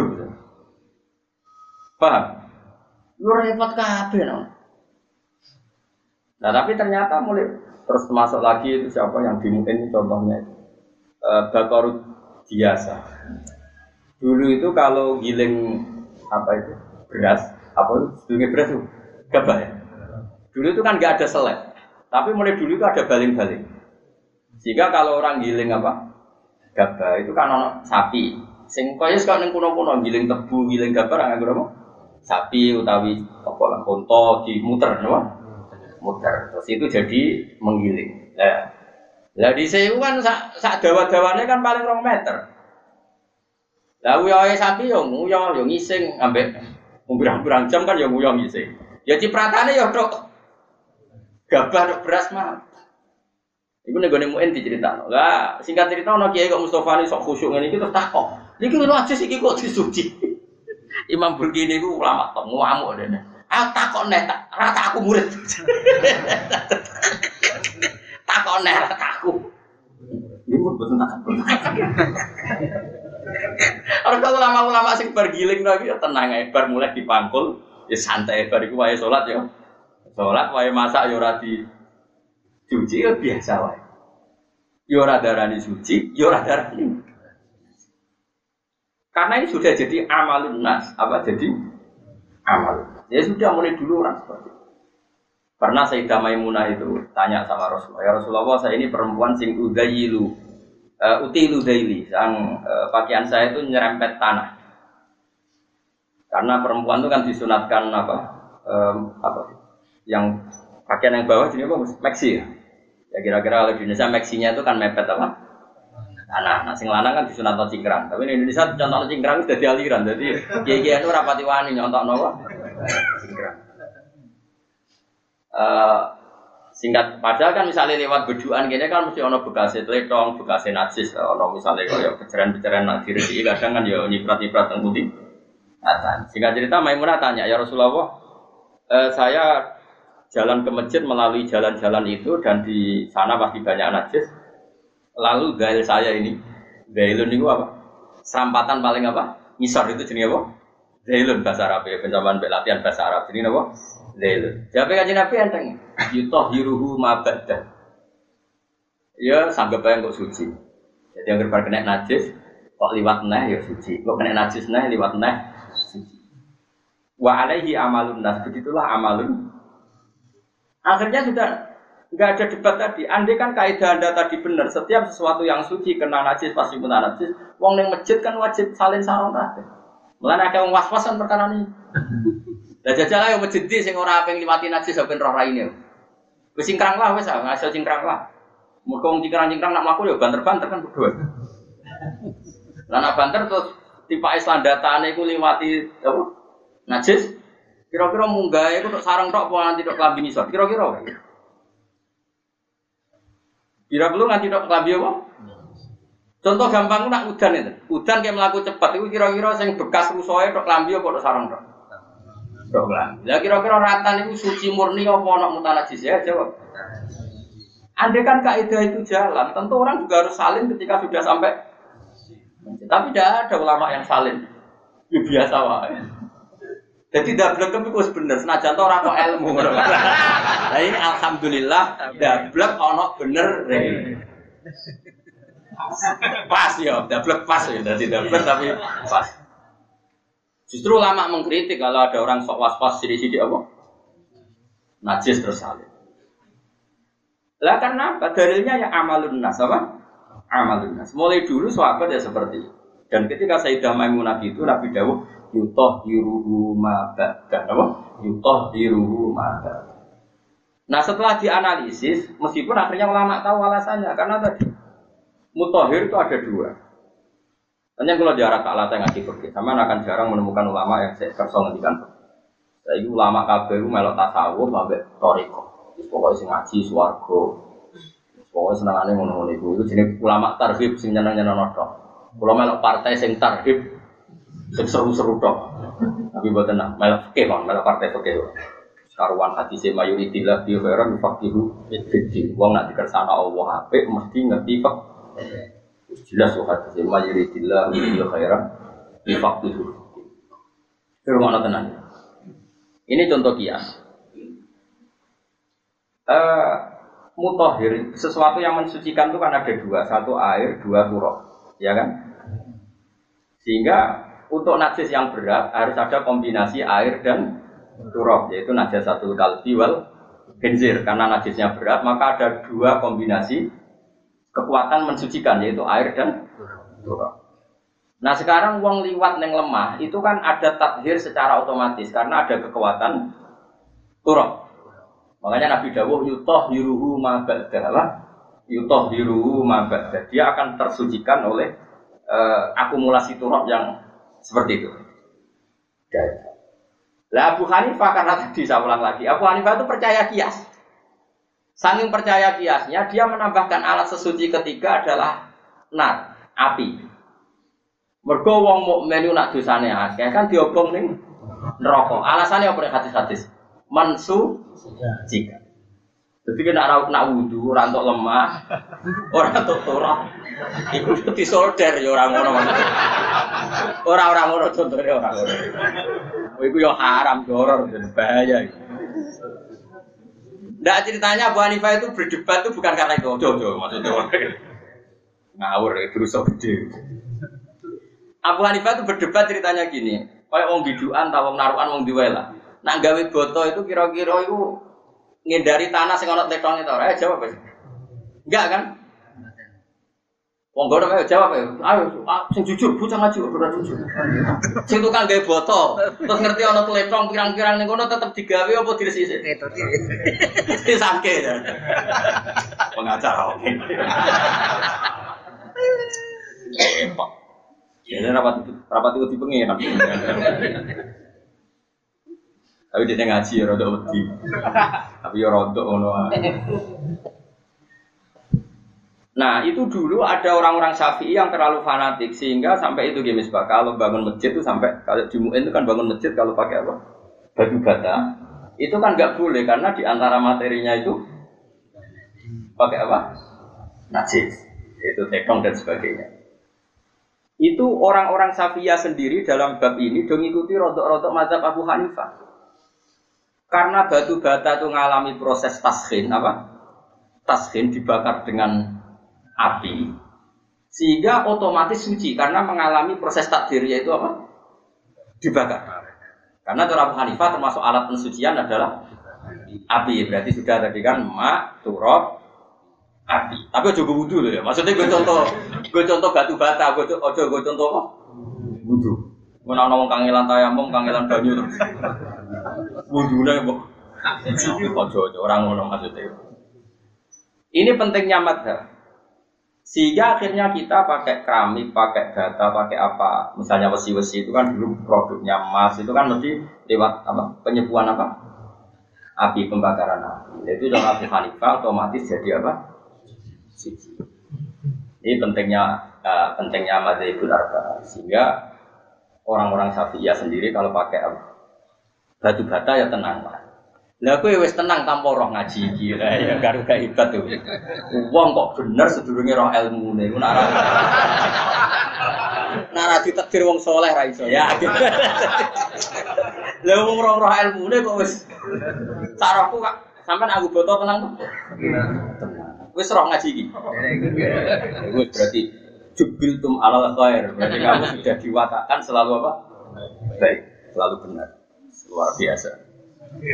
paham? Lu repot kabeh no. Nah tapi ternyata mulai terus masuk lagi itu siapa yang dimungkin contohnya itu e, Bakorud biasa. Dulu itu kalau giling apa itu beras, apa itu sebelumnya beras itu gabah ya. Dulu itu kan nggak ada selek, tapi mulai dulu itu ada baling-baling. Sehingga kalau orang giling apa gabah itu kan ono sapi. Sing kaya sekarang kuno-kuno giling tebu, giling gabah nggak berapa? Sapi utawi apa lah konto dimuter, no? Muter, terus itu jadi menggiling. Nah, lah di sewu kan sak sak dawa-dawane kan paling rong meter. Lah uyohe sapi yo nguyo yo ngising ambek umbrang-umbrang jam kan yo nguyo ngising. Ya cipratane yo tok gabah tok beras mah. Iku nek gone muen diceritakno. Lah singkat cerita ana kiai kok Mustofa ni sok khusyuk ngene iki terus takok. Niki lho aja iki kok disuci. Imam Burkini iku ulama tok ngamuk dene. Aku takok nek tak rata aku murid. Takok nek rata aku. Iku betul takok. Ora kok ulama-ulama sing bar giling lagi ya tenang ae bar mulai dipangkul ya santai bar iku wae salat ya. Salat wae masak ya ora di cuci ya biasa wae. Ya ora darani suci, ya ora darani. Karena ini sudah jadi amalun nas, apa jadi amal. Ya sudah mulai dulu orang seperti itu. Pernah Sayyidah Maimunah itu tanya sama Rasulullah, ya Rasulullah saya ini perempuan sing udayilu, uh, utilu daili, sang uh, pakaian saya itu nyerempet tanah. Karena perempuan itu kan disunatkan apa, um, apa, yang pakaian yang bawah jenis apa? Maxi ya. Ya kira-kira kalau di Indonesia maxinya itu kan mepet apa? Tanah. Nah, sing lanang kan disunatno cingkrang. Tapi di Indonesia contohnya cingkrang sudah dialiran. Jadi kiai-kiai itu rapati wani nyontokno apa? Cingkrang. Uh, singkat padahal kan misalnya lewat beduan gini kan mesti ono bekasnya teletong, bekasnya najis, ono misalnya kalau pecahan-pecahan nak diredi kadang kan ya nyiprat-nyiprat teng putih. Nah, singkat cerita Maimunah tanya, ya Rasulullah, uh, saya jalan ke masjid melalui jalan-jalan itu dan di sana pasti banyak najis. Lalu dail saya ini, dailun itu apa? Serampatan paling apa? Ngisor itu jenis apa? Dailun bahasa Arab ya, pencaman latihan bahasa Arab jenis apa? Dailun. Siapa yang Nabi enteng? Yutoh hiruhu mabadah. Ya sanggap aja kok suci. Jadi yang berbar kena najis, kok liwat neh ya suci. Kok kena najis neh liwat neh suci. Wa alaihi amalun nas, begitulah amalun. Akhirnya sudah nggak ada debat tadi. Andai kan kaidah Anda tadi benar, setiap sesuatu yang suci kena najis pasti pun najis. Wong ning masjid kan wajib salin sarung kabeh. Mulane akeh wong was-wasan perkara ini. Lah jajal ae masjid iki sing ora aping liwati najis ben roh raine. Wis cingkrang lah wis, ngaso cingkrang lah. Muga wong cingkrang-cingkrang nak mlaku ya banter-banter kan berdua. Lah nak banter terus tipake slandatane iku liwati apa? Najis. Kira-kira munggah iku tok sarung tok apa nganti tok klambi ngisor. Kira-kira. Kira perlu nganti tok klambi apa? Contoh gampang nak udan itu. Udan kayak melaku cepat itu kira-kira sing bekas rusoe tok klambi apa tok sarung tok. Tok klambi. Lah kira-kira ratan itu suci murni apa ana mutanajis ya jawab. Andai kan kaidah itu jalan, tentu orang juga harus salin ketika sudah sampai. Tapi tidak ada ulama yang salin. Ya biasa wae. Jadi dablek itu bener, senajan ora kok ilmu. Nah ini alhamdulillah dablek ono bener. Pas ya, dablek pas ya, dari dablek tapi pas. Justru ulama mengkritik kalau ada orang sok was-was sidik-sidik apa? Najis terus salin. Lah karena apa? Dalilnya ya amalun nas apa? amalun nas. Mulai dulu sahabat ya seperti itu. Dan ketika Sayyidah Maimunah itu Nabi dawuh yutahhiruhu ma ba'da. Apa? Yutahhiruhu ma ba'da. Nah, setelah dianalisis, meskipun akhirnya ulama tahu alasannya karena tadi mutahhir itu ada dua. Hanya kalau jarak alat yang ngaji fikih, sama akan jarang menemukan ulama yang saya kerso ngendikan. Saya itu ulama kabeh itu melok tasawuf sampai toriko. Terus pokoknya sing ngaji swarga. Pokoknya senengane ngono-ngono iku. Itu jenenge ulama tarhib sing nyeneng-nyeneng tok. Kula melok partai sing tarhib sing seru-seru tok. Tapi mboten nah, melok fikih Bang, melok partai fikih. Karuan hati se mayoritillah bi khairan faqihu fiddin. Wong nak dikersana Allah apik mesti ngerti kok. Jelas kok hati se mayoritillah bi khairan faqihu. Firman tenan. Ini contoh kias. Uh, mutahhir sesuatu yang mensucikan itu kan ada dua, satu air, dua turab, ya kan? Sehingga untuk najis yang berat harus ada kombinasi air dan turab, yaitu najasatul kalbi wal khinzir. Karena najisnya berat, maka ada dua kombinasi kekuatan mensucikan, yaitu air dan turab. Nah sekarang wong liwat neng lemah itu kan ada tathir secara otomatis karena ada kekuatan turab. Makanya Nabi dawuh yutahhiruhu ma ba'da. Yutahhiruhu ma ba'da. Dia akan tersucikan oleh uh, akumulasi turab yang seperti itu. Lah Abu Hanifah karena tadi saya ulang lagi, Abu Hanifah itu percaya kias. Saking percaya kiasnya, dia menambahkan alat sesuci ketiga adalah nar, api. Mergo wong mukmin nak dosane akeh kan diobong ning neraka. Alasane apa nek hadis-hadis? Mansu jika. Jadi kena ora nak wudu, ora entuk lemah, ora entuk turah. Iku disolder ya ora ngono. Ora ora ngono contone ora ngono. Iku yo haram, horor dan bahaya iki. Ndak ceritanya Abu Hanifah itu berdebat itu bukan karena itu. Ojo-ojo maksudnya. Ngawur itu rusak gede. Abu Hanifah itu berdebat ceritanya gini, kayak wong biduan, atau wong narukan, wong diwela. Nak gawe boto itu kira-kira itu ngindari tanah sing ana tetone ta ora? Eh jawab wis. Enggak kan? Wong gono ayo jawab ayo. Ayo sing jujur, bocah ngaji ora jujur. Sing tukang gawe boto, terus ngerti ana tletong pirang-pirang ning kono tetep digawe apa diresiki? Wis sangke. Pengacara oke. Ya, rapat rapat itu dipengen. Tapi dia ngaji ya rada wedi. Tapi ya rada ngono. Nah, itu dulu ada orang-orang Syafi'i yang terlalu fanatik sehingga sampai itu gemes Pak. Kalau bangun masjid itu sampai kalau di Mu'in itu kan bangun masjid kalau pakai apa? Batu bata. Itu kan enggak boleh karena di antara materinya itu pakai apa? Najis. Itu tekong dan sebagainya. Itu orang-orang Syafi'iyah sendiri dalam bab ini do ngikuti rodok-rodok mazhab Abu Hanifah. Karena batu bata itu mengalami proses taskhin apa? Taskhin dibakar dengan api. Sehingga otomatis suci karena mengalami proses takdir yaitu apa? Dibakar. Karena cara Abu Hanifah termasuk alat pensucian adalah api. Berarti sudah tadi kan ma, turab, api. Tapi ojo gue wudu loh ya. Maksudnya gue contoh, gue contoh batu bata, gue ojo gue contoh apa? Wudu. Gue nak ngomong kangelan tayamum, kangelan banyu terus. Wudu nih bu. Ojo ojo orang ngomong maksudnya. Ini pentingnya madhab. Sehingga akhirnya kita pakai keramik, pakai bata, pakai apa? Misalnya besi-besi itu kan dulu produknya emas itu kan mesti lewat apa? Penyepuan apa? Api pembakaran api. Itu dalam Abu Hanifah otomatis jadi apa? Suci. Ini pentingnya uh, pentingnya mazhabul arba. Sehingga orang-orang Syafi'iyah sendiri kalau pakai batu bata ya tenang lah. Lah kowe wis tenang tanpa roh ngaji iki ya karo gak hebat tuh. Wong kok bener sedurunge roh ilmune iku nek ora ditakdir wong saleh ra iso ya. Lah wong roh roh ilmune kok wis sarahku kak sampean aku boto tenang tuh. Tenang. Wis roh ngaji iki. Wis berarti jubiltum alal khair. Berarti kamu sudah diwatakan selalu apa? Baik, selalu benar. Luar biasa.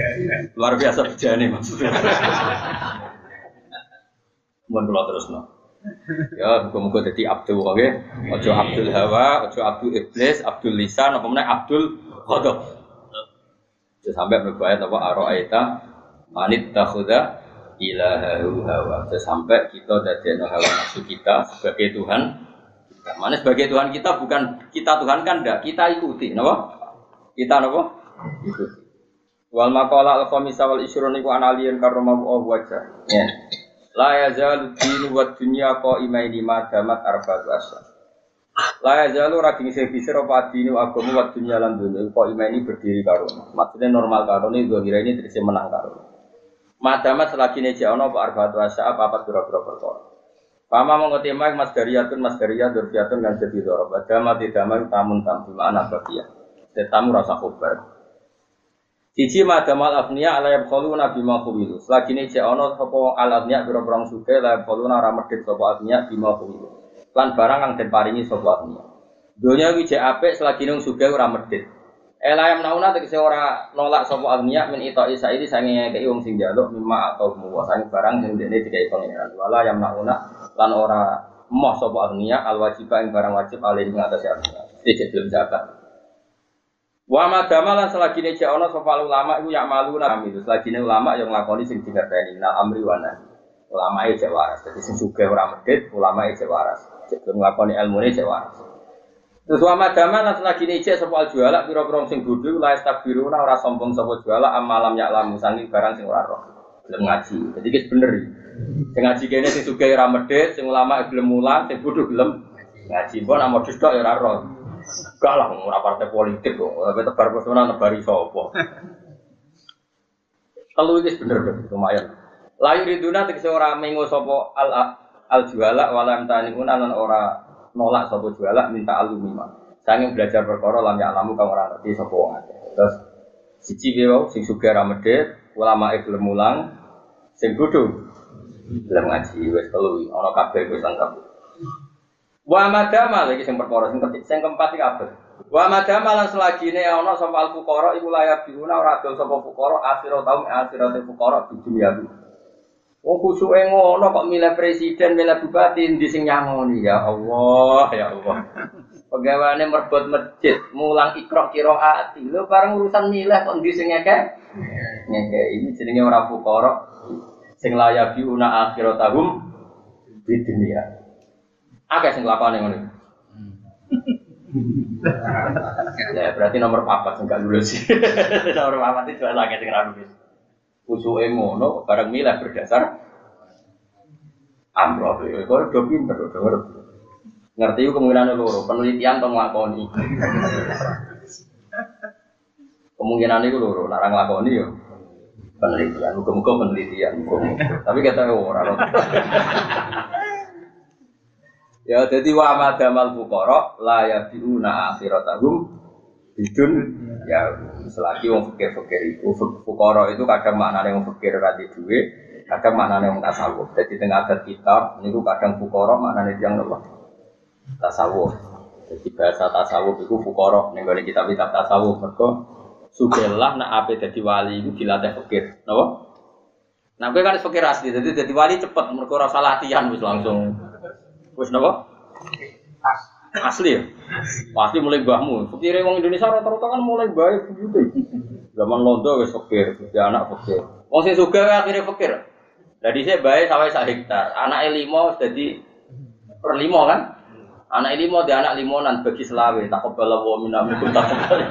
Luar biasa bejane maksudnya. Mohon kula terusno. Ya, muga-muga dadi abdul oke. Ojo abdul hawa, ojo abdul iblis, abdul lisan, apa meneh abdul ghadab. Terus sampai berbayat apa araita manit takhudha ilahahu hawa. Terus sampai kita dadekno hawa nafsu kita sebagai Tuhan. Kita mana sebagai Tuhan kita bukan kita Tuhan kan enggak, kita ikuti, napa? Kita napa? Ikuti. Wal maqala al-khamisa wal ishrun iku analiyan karamahu wajah. Ya. La yazalu dinu wa dunya qaimaini ma damat arba'atu asyhur. La yazalu ra dingse bisir apa dinu agama wa dunya lan dunya qaimaini berdiri karo. Maksudnya normal karo ini zahira ini terus menang karo. Ma damat selagi ne ana apa arba'atu asyhur apa pira-pira perkara. Pama mengotima mas dariyatun mas dariyah durfiyatun kan jadi dorob. Dama tidak mau tamun tamu mana bagian. Tetamu rasa khobar. Siji madamal afniya ala yabkhalu nabi ma khumilu. Selagi ini cek ana sapa al afniya biro-biro suke la yabkhalu ora medhit sapa afniya bima khumilu. Lan barang kang den paringi sapa afniya. Donya iki cek apik selagi nang suke ora medhit. Elayam nauna tegese ora nolak sapa afniya min ita isa iki sange ngekeki wong sing njaluk mimma atau muwa sange barang sing dene dikai pangeran. Wala yam nauna lan ora moh sapa afniya al wajiba ing barang wajib alih ing atase afniya. Iki belum zakat. Wa madama lan selagi ne ana sapa ulama iku yak malu nami itu selagi ulama yang nglakoni sing dikerteni na amri wa nahi ulama e cek waras dadi sing sugih ora medhit ulama e cek waras cek nglakoni ilmune cek waras terus wa madama lan selagi ne sapa juala pira-pira sing bodho la istakbiru ora sombong sapa juala amalam yak lamu sangi barang sing ora roh gelem ngaji dadi wis bener sing ngaji kene sing sugih ora medhit sing ulama gelem mulang sing bodho gelem ngaji mbok nak modus tok ya ora roh. Enggak lah, ora partai politik kok. Tapi tebar pesona nebari sapa. Kalau iki bener lumayan. Layu riduna tegese ora mengo sapa al al juala walam taniun lan ora nolak sapa juala minta alumima. Sanging belajar perkara lam ya alamu kang ora ngerti sapa wong akeh. Terus siji wae sing sugih ra medhit, ulama e gelem mulang, sing bodho gelem ngaji wis telu ana kabeh wis lengkap. Wa madama lagi sing perkara sing ketik sing keempat iki kabeh. Wa madama lan selagine ana sapa al fuqara iku layak diuna ora adol sapa fuqara akhirate taum akhirate fuqara di dunia iki. Wong kusuke ngono kok milih presiden, milih bupati ndi sing nyangoni ya Allah, ya Allah. Pegawaiane merbot masjid, mulang ikra qiraat. Lho bareng urusan milih kok ndi sing ngekek? Ngekek ini jenenge ora fuqara sing layak diuna akhiratahum di dunia. Akeh sing lakone ngono. Ya berarti nomor papat sing gak lulus. Nomor papat itu akeh sing ra lulus. Usuke ngono bareng milih berdasar amplop. Kok do pinter do ngerti. Ngerti ku kemungkinan loro, penelitian to nglakoni. Kemungkinan iku loro, nek ora nglakoni yo penelitian, muga-muga penelitian. Tapi kata ora. Ya jadi wa madamal fuqara la yabiuna akhiratahum bidun ya selagi wong fikir-fikir itu fuqara itu kadang maknane wong fikir ra di dhuwit kadang maknane wong tasawuf. Jadi tengah adat kitab niku kadang fuqara maknane tiyang napa tasawuf. Jadi bahasa tasawuf itu fuqara ning gone kitab-kitab tasawuf mergo sugihlah nek ape dadi wali iku dilatih fikir napa. Nah kowe kan fikir asli dadi dadi wali cepet mergo ora salah latihan wis langsung. Wis napa? Asli ya? Pasti mulai mbahmu. Fikire wong Indonesia rata-rata kan mulai bae begitu. Zaman londo wis fikir, ya anak fikir. Wong sing sugih akhire fikir. Lah dhisik bae sawah sak hektar. Anake lima dadi per lima kan? Anake lima di anak limonan bagi selawe takobala wa minamkum takobala.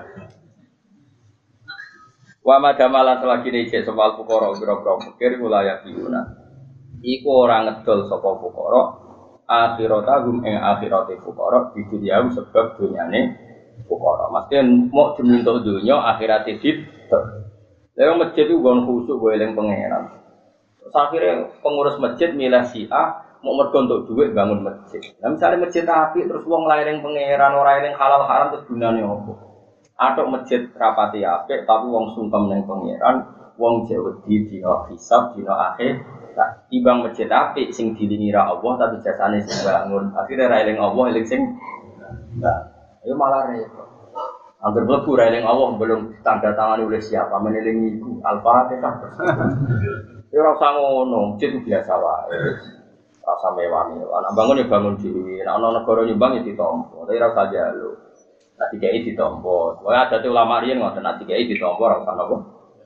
Wa madamalan selagi dicek soal fuqara biro-biro fikir wilayah diuna. Iku ora ngedol sapa fuqara akhiratahum ing akhirate fuqara di dunia sebab dunyane fuqara. Maksudnya mau diminta dunya akhirate dit. Lha masjid itu gon khusuk go eling pangeran. Terus akhirnya pengurus masjid milih si A mau mergo untuk duit bangun masjid. Lah misale masjid apik terus wong laring pangeran ora eling halal haram terus gunane opo? Atok masjid rapati apik tapi wong sungkem ning pangeran, wong jek wedi dina hisab dina akhir. Tak timbang masjid apik sing dilingi ra Allah tapi jasane sing bangun. Akhire ra eling Allah eling sing enggak. Ayo malah repot. Angger mlebu ra eling Allah belum tanda tangani oleh siapa menelingi iku Al-Fatihah. Ya ora usah ngono, masjid biasa wae. rasa mewah-mewah. Nak bangun ya bangun dhewe. Nek ana negara nyumbang ya ditampa. Tapi ora usah njaluk. Nek dikai ditampa. Wae adate ulama riyen ngoten nek dikai ditampa ora usah napa.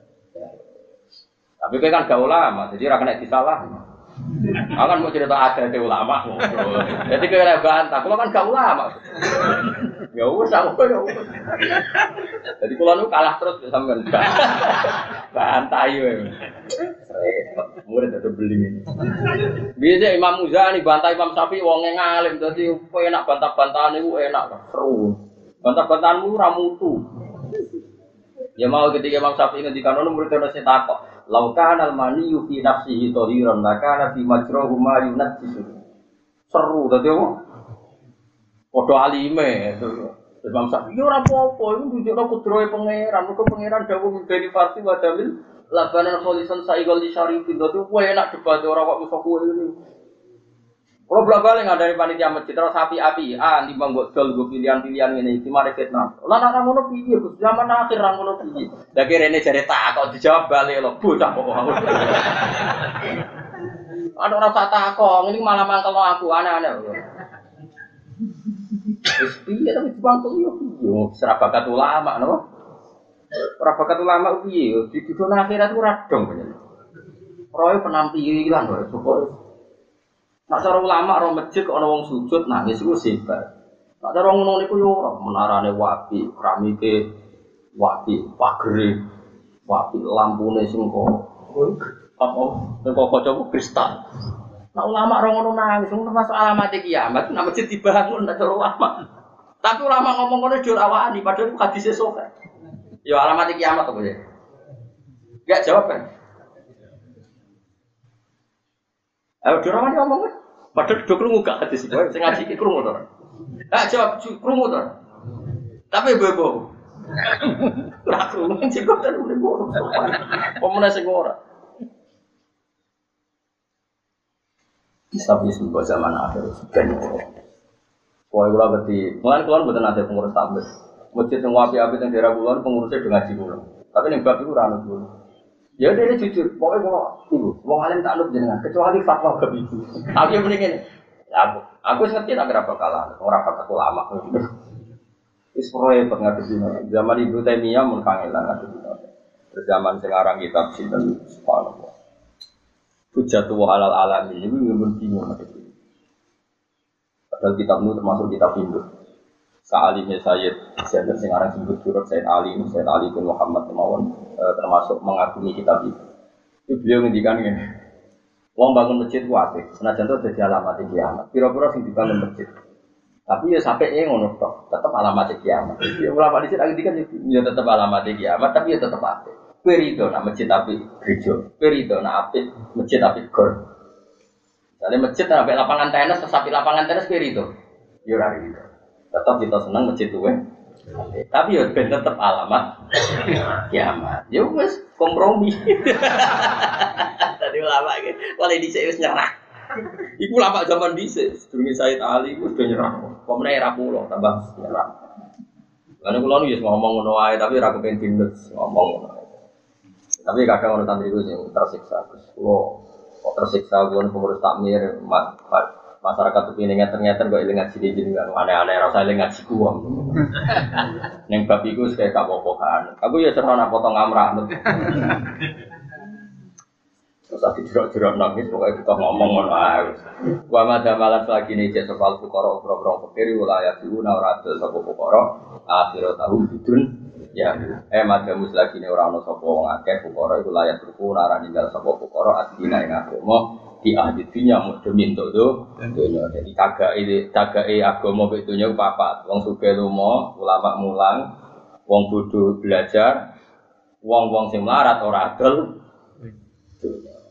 Tapi kowe kan gak ulama, jadi ora kena disalah. Aku kan mau cerita adate ulama. Jadi kowe ora bantah, kula kan gak ulama. Ya wis aku ya wis. Jadi kula nu kalah terus sampean. Bantah yo. Murid ada beling ini. Biasa Imam Muzani bantah Imam Syafi'i wonge ngalim dadi kowe enak bantah-bantahan niku enak seru. Bantah-bantahanmu ora mutu. Ya mau ketika Imam Syafi'i ngendikan ono murid ono sing takok, "Lau kana al-maniyyu fi nafsihi tahiran, la kana fi majrahu ma yunajjisu." Seru dadi apa? Padha alime. Imam Syafi'i ora apa-apa, iku nunjukno kudrohe pangeran, mergo pangeran dawuh dari farsi wa dalil labanan kholisan saigol di syarifin. Dadi kowe enak debat ora kok iso kowe ngene. Kalau bolak-balik ngandani panitia masjid terus api-api, ah timbang mbok dol go pilihan-pilihan ngene iki mari fitnah. Lah nek ngono piye Gus? Zaman akhir ra ngono piye? Lah kirene jare tak kok dijawab bali lho, bocah kok. Ana ora sak takok, ngene malah mangkelno aku aneh-aneh. Wis piye tapi dibantu yo. Yo serabakat ulama napa? Ora bakat ulama piye? Di dunia akhirat ora dong bener. Roe penampilan wae syukur. Nek cara ulama ro masjid kok ana wong sujud nangis iku sebar. Nek cara ngono niku yo ora menarane wapi, keramike wapi, pagere wapi, lampune sing kok apa nek kok coba kristal. Nek ulama ro ngono nangis ngono termasuk alamat kiamat, nek masjid dibangun nek cara ulama. Tapi ulama ngomong ngono jur awani padahal hadise sok. Ya alamat kiamat apa ya? Enggak jawab kan? Ayo dirawan ngomong kan? Padahal do krungu gak hadis iki. Sing ngaji iki krungu to. Ah jawab krungu to. Tapi bebo. Ora krungu sing kok ten urip ora. Pomene sing ora. Tapi sebuah zaman akhir ben. Kowe ora ngerti. Mulane kula mboten ate pengurus tambah. Masjid sing api-api teng daerah kula pengurusnya do ngaji kula. Tapi ning bab iku ora ana kula. Ya udah ini jujur, pokoknya kalau ibu, wong alim tak anut jenengan, kecuali fatwa bab itu. Aku yang mendingin, aku, aku ngerti tak berapa kalah, orang kata ulama. Isproye pernah kesini, zaman Ibnu Taimiyah mun kangelan ada di zaman sekarang kitab sinten subhanallah. Hujjatu halal alami ini mun bingung ada ini. Padahal kitab itu termasuk kitab Hindu. Sa'alimnya Sayyid Sayyid sekarang sebut surat Sayyid Ali Sayyid Ali bin Muhammad Mawon e, termasuk mengagumi kitab itu. Itu beliau ngendikan gini, wong bangun masjid kuwi senajan to dadi alamat kiamat. Pira-pira sing dibangun masjid. Tapi ya sampai e ngono tok, tetep alamat kiamat. Ya ulama dhisik ngendikan ya tetep alamat kiamat, tapi ya tetep apik. Kowe rido nak masjid apik gereja. Kowe rido nak apik masjid apik gor. Misalnya masjid apik lapangan tenis, terus apik lapangan tenis kowe rido. Ya ora rido. Tetap kita senang masjid tuwe, tapi ya ben tetap alamat kiamat. Ya wes kompromi. Tadi ulama gitu, kalau di sini wes nyerah. Iku ulama zaman dhisik, sedurunge Sayyid Ali wis do nyerah. Pemene era pulau tambah nyerah. Karena kula nu ya ngomong ngono wae tapi ora kepen dindes ngomong ngono. Tapi kadang ono santri ku sing tersiksa. Kulo kok tersiksa kulo pengurus takmir mat masyarakat tuh ini ternyata kok ilang ngaji di jenengan aneh-aneh rasa ilang ngaji gua. Neng bab iku kayak kapopokan. Aku ya seneng nak potong amrah. Terus aku jerok-jerok nangis pokoknya kita ngomong ngono ae. Wa madamalan lagi nih cek soal fuqara boro-boro fakir wilayah diuna ora adil sapa fuqara akhirat tahu bidun ya eh madamus lagi nih ora ono sapa wong akeh fuqara iku layak ruku ora ninggal sapa fuqara adina ing agama di ahli dunia mudmin to dunia jadi cagake cagake agama mek dunia papat wong sugih lumo ulama mulang wong bodho belajar wong-wong sing melarat ora adol dunia